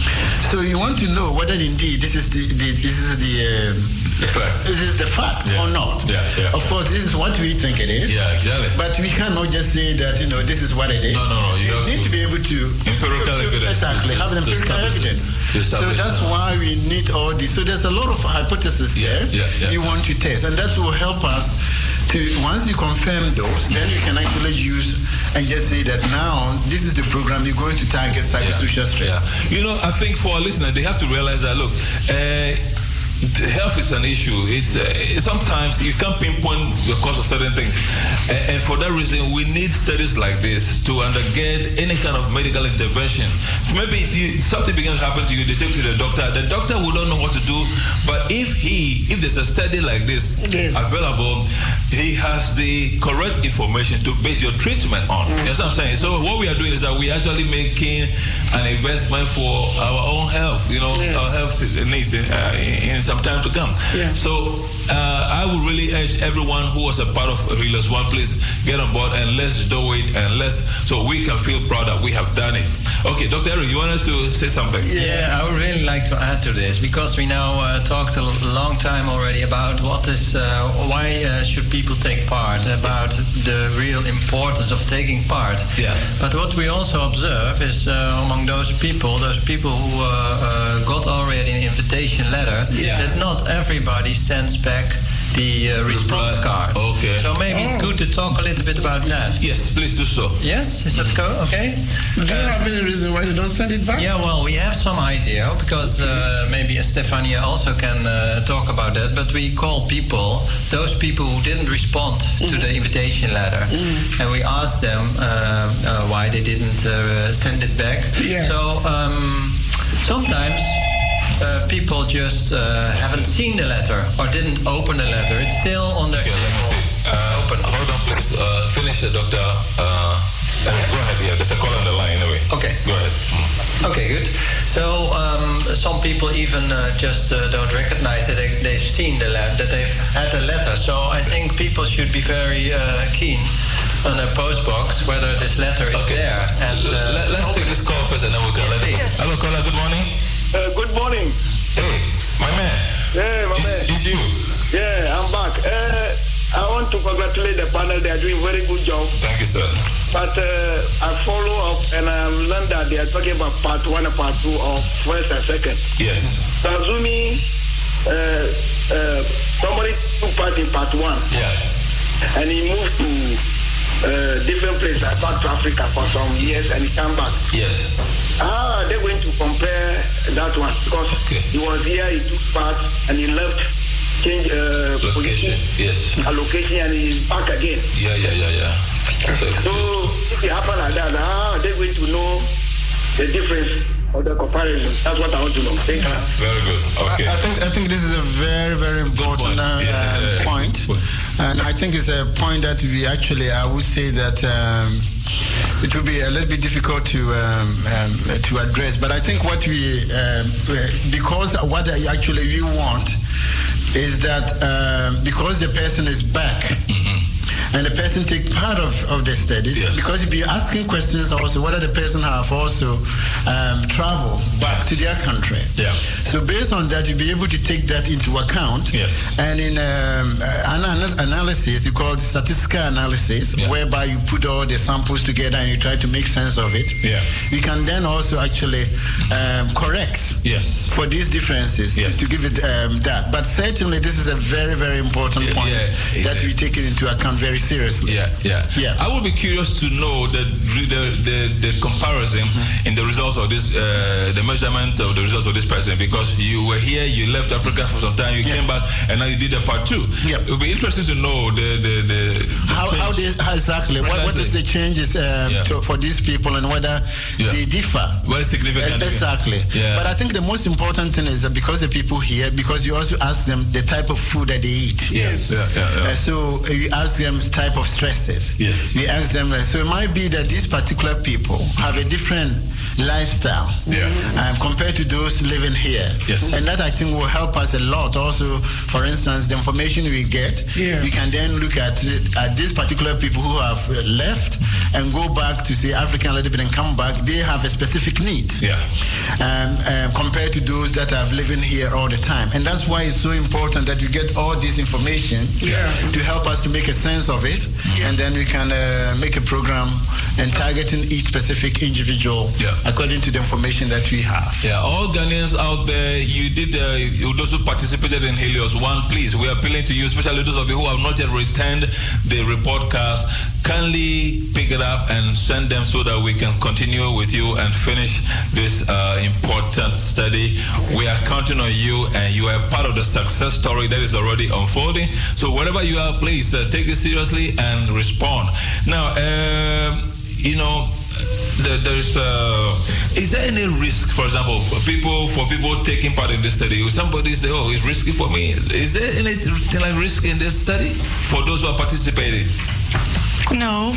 So you want to know whether indeed this is the, the this is the, um, the fact. This is the fact yeah. or not. Yeah, yeah. Of course, this is what we think it is. Yeah, exactly. But we cannot just say that you know this is what it is. No, no, no. You, you need to, to be able to empirical to, evidence. Exactly, have an empirical evidence. So that's that. why we need all this. So there's a lot of hypotheses yeah, there yeah, yeah, you yeah. want to test, and that will help us. To, once you confirm those, then you can actually use and just say that now this is the program you're going to target psychosocial yeah. stress. Yeah. You know, I think for our listeners, they have to realize that, look, uh, health is an issue. It's uh, sometimes you can't pinpoint the cause of certain things, and, and for that reason, we need studies like this to undergird any kind of medical intervention. Maybe you, something begins to happen to you, they take you to the doctor. The doctor will not know what to do, but if he, if there's a study like this yes. available, he has the correct information to base your treatment on. Mm. That's what I'm saying. So what we are doing is that we are actually making an investment for our own health. You know, yes. our health needs uh, in, in some time to come. Yeah. So uh, I would really urge everyone who was a part of Realers One, please get on board and let's do it, and let's so we can feel proud that we have done it. Okay, Doctor Eric, you wanted to say something? Yeah, I would really like to add to this because we now uh, talked a long time already about what is, uh, why uh, should people take part, about the real importance of taking part. Yeah. But what we also observe is uh, among those people, those people who uh, uh, got already an invitation letter, yeah. that not everybody sends back the uh, response card. Okay. So maybe oh. it's good to talk a little bit about that. Yes, please do so. Yes, is that go? Okay. Do you uh, have any reason why you don't send it back? Yeah, well, we have some idea because uh, maybe Stefania also can uh, talk about that. But we call people, those people who didn't respond mm. to the invitation letter, mm. and we asked them uh, uh, why they didn't uh, send it back. Yeah. So um, sometimes. Uh, people just uh, haven't seen the letter or didn't open the letter. It's still on their. Okay, let me see. Uh, open. Hold on, please. Uh, finish it, Doctor. Uh, go ahead. Yeah, there's a call on the line anyway. Okay. Go ahead. Mm. Okay, good. So um, some people even uh, just uh, don't recognize that they, they've seen the letter, that they've had a letter. So I think people should be very uh, keen on a post box whether this letter is okay. there. And uh, Let, let's take this call first, and then we can let it. Yes. Hello, caller. Good morning. Uh, good morning. Hey, my man. Yeah, my it's, man. It's you. Yeah, I'm back. Uh, I want to congratulate the panel. They are doing very good job. Thank you, sir. But uh, I follow up and I learned that they are talking about part one and part two of first and second. Yes. So assuming uh, uh, somebody took part in part one. Yeah. And he moved to uh, different places like South Africa for some years and he came back. Yes. How are they going to compare that one? Because okay. he was here, he took part, and he left, change uh, location, yes, allocation, and he's back again. Yeah, yeah, yeah, yeah. So, so if it happens like that, how are they going to know the difference or the comparison? That's what I want to know. Thank you. Very good. Okay. I, I think I think this is a very very important point. Uh, yeah, yeah, yeah. point, and I think it's a point that we actually I would say that. Um, It will be a little bit difficult to um, um, to address, but I think what we um, because what I actually we want is that um, because the person is back. Mm-hmm. And the person take part of, of the studies yes. because you'll be asking questions also whether the person have also um, traveled back to their country. Yeah. So based on that, you'll be able to take that into account. Yes. And in um, an analysis, you call it statistical analysis, yeah. whereby you put all the samples together and you try to make sense of it. Yeah. You can then also actually um, correct yes. for these differences yes. to, to give it um, that. But certainly, this is a very, very important yeah, point yeah, that we take it into account very seriously. Yeah, yeah, yeah. I would be curious to know the the the, the comparison mm-hmm. in the results of this, uh, the measurement of the results of this person, because you were here, you left Africa for some time, you yeah. came back, and now you did a part two. Yeah. It would be interesting to know the the, the, the how how, this, how exactly what, what is the changes um, yeah. to, for these people and whether yeah. they differ. Very significant. Uh, exactly. Yeah. But I think the most important thing is that because the people here, because you also ask them the type of food that they eat. Yes. Yeah, yeah, yeah. Uh, so you ask them the type of stresses. Yes. We ask them, so it might be that these particular people have a different lifestyle yeah. um, compared to those living here. Yes. And that I think will help us a lot. Also, for instance, the information we get, yeah. we can then look at, at these particular people who have left and go back to say African a little bit and come back. They have a specific need yeah. um, um, compared to those that are living here all the time. And that's why it's so important that you get all this information yeah. to help us to make a sense of it. Yeah. And then we can uh, make a program and targeting each specific individual yeah. according to the information that we have. Yeah, all Ghanaians out there, you did, uh, you, those who participated in Helios One, please, we are appealing to you, especially those of you who have not yet returned the report cards. Kindly pick it up and send them so that we can continue with you and finish this uh, important study. We are counting on you, and you are part of the success story that is already unfolding. So wherever you are, please uh, take it seriously and respond. Now, uh, you know, there, there is uh, is there any risk, for example, for people for people taking part in this study? Will somebody say, "Oh, it's risky for me"? Is there anything like risk in this study for those who are participating? No.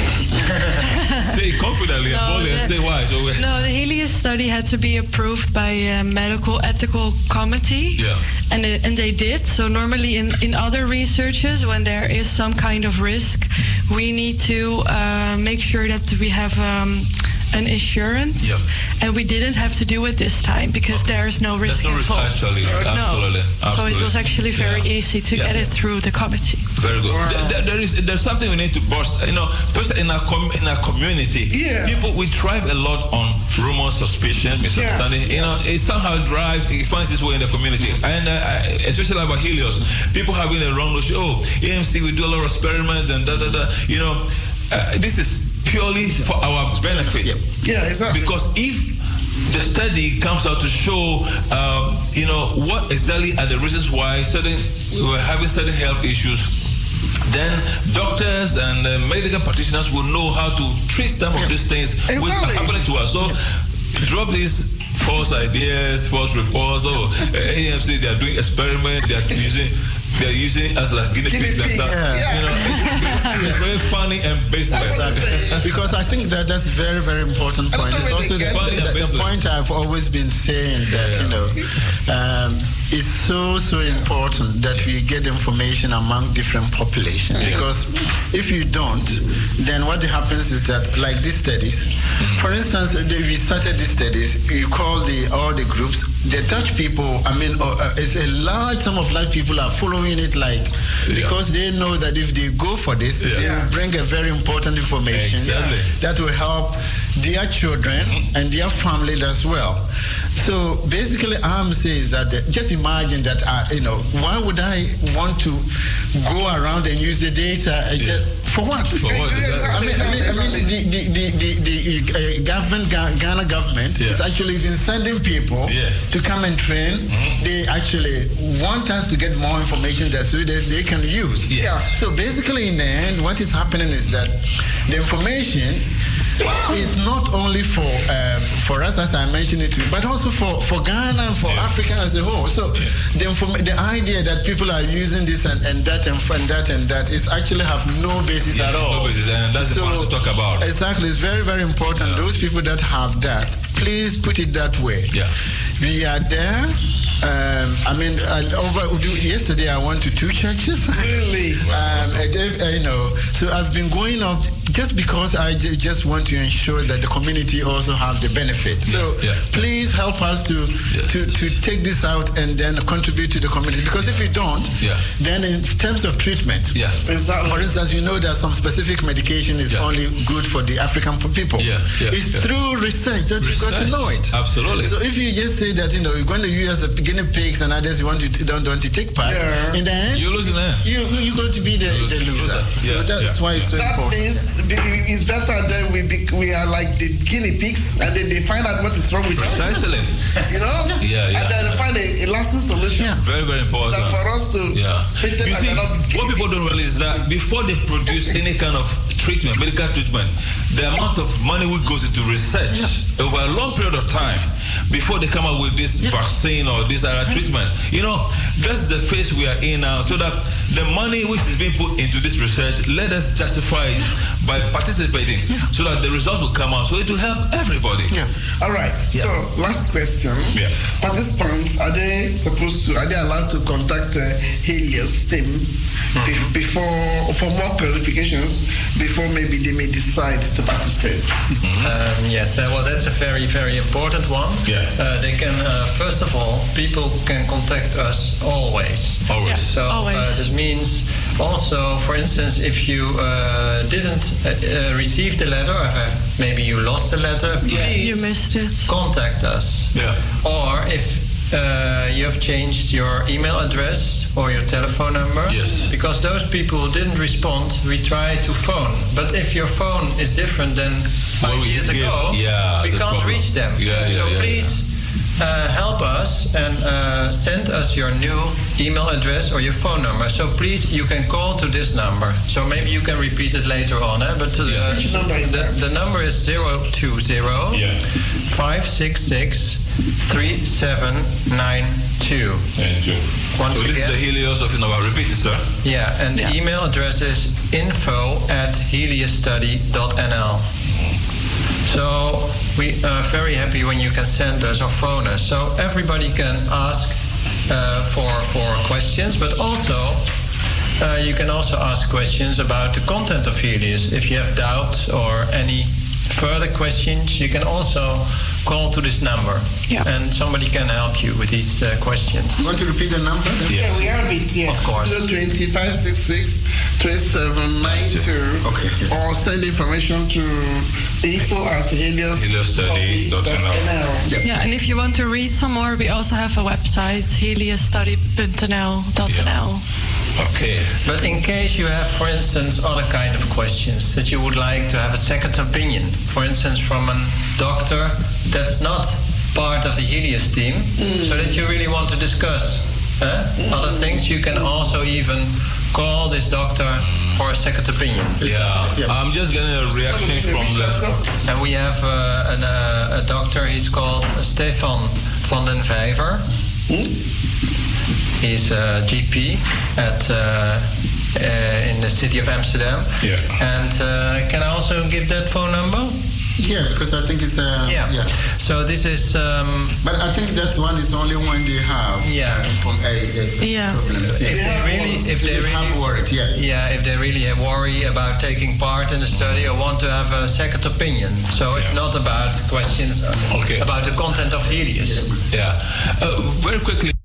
Say confidently and No, boldly and the- say why. So we- No, the Helios study had to be approved by a medical ethical committee. Yeah. And, it, and they did. So normally in, in other researches, when there is some kind of risk, we need to uh, make sure that we have um, an assurance. Yeah. And we didn't have to do it this time because there's no risk There's no risk, involved. actually. No. Absolutely. So it Absolutely. was actually very Yeah. easy to Yeah. get it through the committee. Very good. There, there- there is there's something we need to burst. You know, first in our com- in our community, Yeah. people we thrive a lot on rumors, suspicion, misunderstanding. You know, it somehow drives, it finds its way in the community, and uh, especially about Helios, people having a wrong notion. Oh, A M C, we do a lot of experiments and da da da. You know, uh, this is purely for our benefit. Yeah, exactly. Because if the study comes out to show, um, you know, what exactly are the reasons why certain we were having certain health issues, then doctors and uh, medical practitioners will know how to treat some of these things which are Exactly. happening to us. So drop these false ideas, false reports. Oh, uh, A M C, they are doing experiments, they are using. They're using us like guinea Guinea pigs and pigs, stuff. yeah. You know, it's, it's very funny and baseless. Because I think that that's a very, very important point. It's also the, Funny and the, the baseless. point I've always been saying that, Yeah. you know, um, it's so, so important that we get information among different populations. Yeah. Because if you don't, then what happens is that, like these studies, for instance, if we started these studies, you call the all the groups, the Dutch people, I mean, uh, uh, it's a large sum of large people are following it like, Yeah. because they know that if they go for this, Yeah. they will bring a very important information Exactly. that will help their children and their family as well. So basically, I'm saying that uh, just imagine that, uh, you know, why would I want to go around and use the data uh, just, for what? For what? I mean, I mean, I mean the, the, the, the, the uh, government, Ga- Ghana government Yeah. is actually even sending people Yeah. to come and train. They actually want us to get more information that so that they can use. Yeah. So basically, in the end, what is happening is that the information is not only for um, for us, as I mentioned it, but also for, for Ghana and for Yeah. Africa as a whole. So Yeah. the inform- the idea that people are using this and, and that and, and that and that is actually have no basis Yeah, at all. no basis, and that's the point to talk about. Exactly, it's very very important. Yeah. Those people that have that, please put it that way. Yeah. We are there. Um, I mean, I, over yesterday I went to two churches. Really? um, I gave, uh, you know, so I've been going up just because I j- just want to ensure that the community also have the benefit. So Yeah, yeah. please help us to, Yes. to to take this out and then contribute to the community. Because if we don't, Yeah. then in terms of treatment, Yeah. Exactly. for instance, you know that some specific medication is Yeah. only good for the African p- people. Yeah, yeah, it's yeah. through research that you got to Research. know it. Absolutely. So if you just say that, you know, you're going to use a guinea pigs and others you want to don't want to take part, Yeah. in the end, You lose in the end. you you're going to be the, the loser. So Yeah, that's yeah, why it's so That important. means be- it's better that we be, we are like the guinea pigs, and then they find out what is wrong with us. Precisely. You know? Yeah, yeah, And then yeah. find a, a lasting solution. Yeah. Very, very important. That for us to Yeah. treat them You as see, another what guinea people pigs. don't realize is that before they produce any kind of treatment, medical treatment, the amount of money which goes into research yeah. over a long period of time before they come up with this yeah. vaccine or this other treatment. You know, that's the phase we are in now, so that the money which is being put into this research, let us justify it by participating yeah. so that the results will come out, so it will help everybody. Yeah. All right. Yeah. So, last question. Yeah. Participants, are they supposed to, are they allowed to contact uh, Helios team mm-hmm. before, for more clarifications, before maybe they may decide to participate? Mm-hmm. Um, yes, uh, well, that's a very, very important one. Yeah. Uh, they can, uh, first of all, people can contact us always. Always. Yeah. So always. Uh, that means also, for instance, if you uh, didn't uh, uh, receive the letter, or if maybe you lost the letter, yeah. please you missed it. contact us. Yeah. Or if uh, you have changed your email address or your telephone number, yes. because those people who didn't respond, we try to phone. But if your phone is different than five well, years give, ago, yeah, we can't problem. reach them. Yeah, yeah, so yeah, please. Yeah. Uh, help us and uh, send us your new email address or your phone number. So please, you can call to this number. So maybe you can repeat it later on. Eh? But uh, yeah. Which number is the, that? the number is zero two zero yeah. five six six three seven nine two. Thank you. Once so this again, is the Helios of Innova. Repeat it, sir. Yeah, and the yeah. email address is info at heliosstudy dot n l. So we are very happy when you can send us or phone us. So everybody can ask uh, for for questions, but also uh, you can also ask questions about the content of Helios. If you have doubts or any further questions, you can also call to this number, yeah. and somebody can help you with these uh, questions. You want to repeat the number? Yeah, yeah we have it here. Of course. zero two zero five six six three seven nine two. Okay. Yeah. Or send information to info at helios study dot n l. Yeah. yeah, and if you want to read some more, we also have a website, helios study dot n l. Yeah. Okay. But in case you have, for instance, other kind of questions that you would like to have a second opinion, for instance, from a doctor that's not part of the Helios team, mm. so that you really want to discuss eh, mm. other things, you can also even call this doctor for a second opinion. Yeah, yeah. I'm just getting a reaction from the... And we have uh, an, uh, a doctor, he's called Stefan van den Vijver. Mm. He's a G P at uh, uh, in the city of Amsterdam. Yeah. And uh, can I also give that phone number? Yeah, because I think it's uh, yeah. yeah. So this is. Um, but I think that one is only one they have. Yeah. Uh, from a, a yeah. problems. If they really, if they really have worried, yeah. Yeah, if they really have worry about taking part in the study or want to have a second opinion. So it's yeah. not about questions okay. about the content of Helios. Yeah. Uh, very quickly.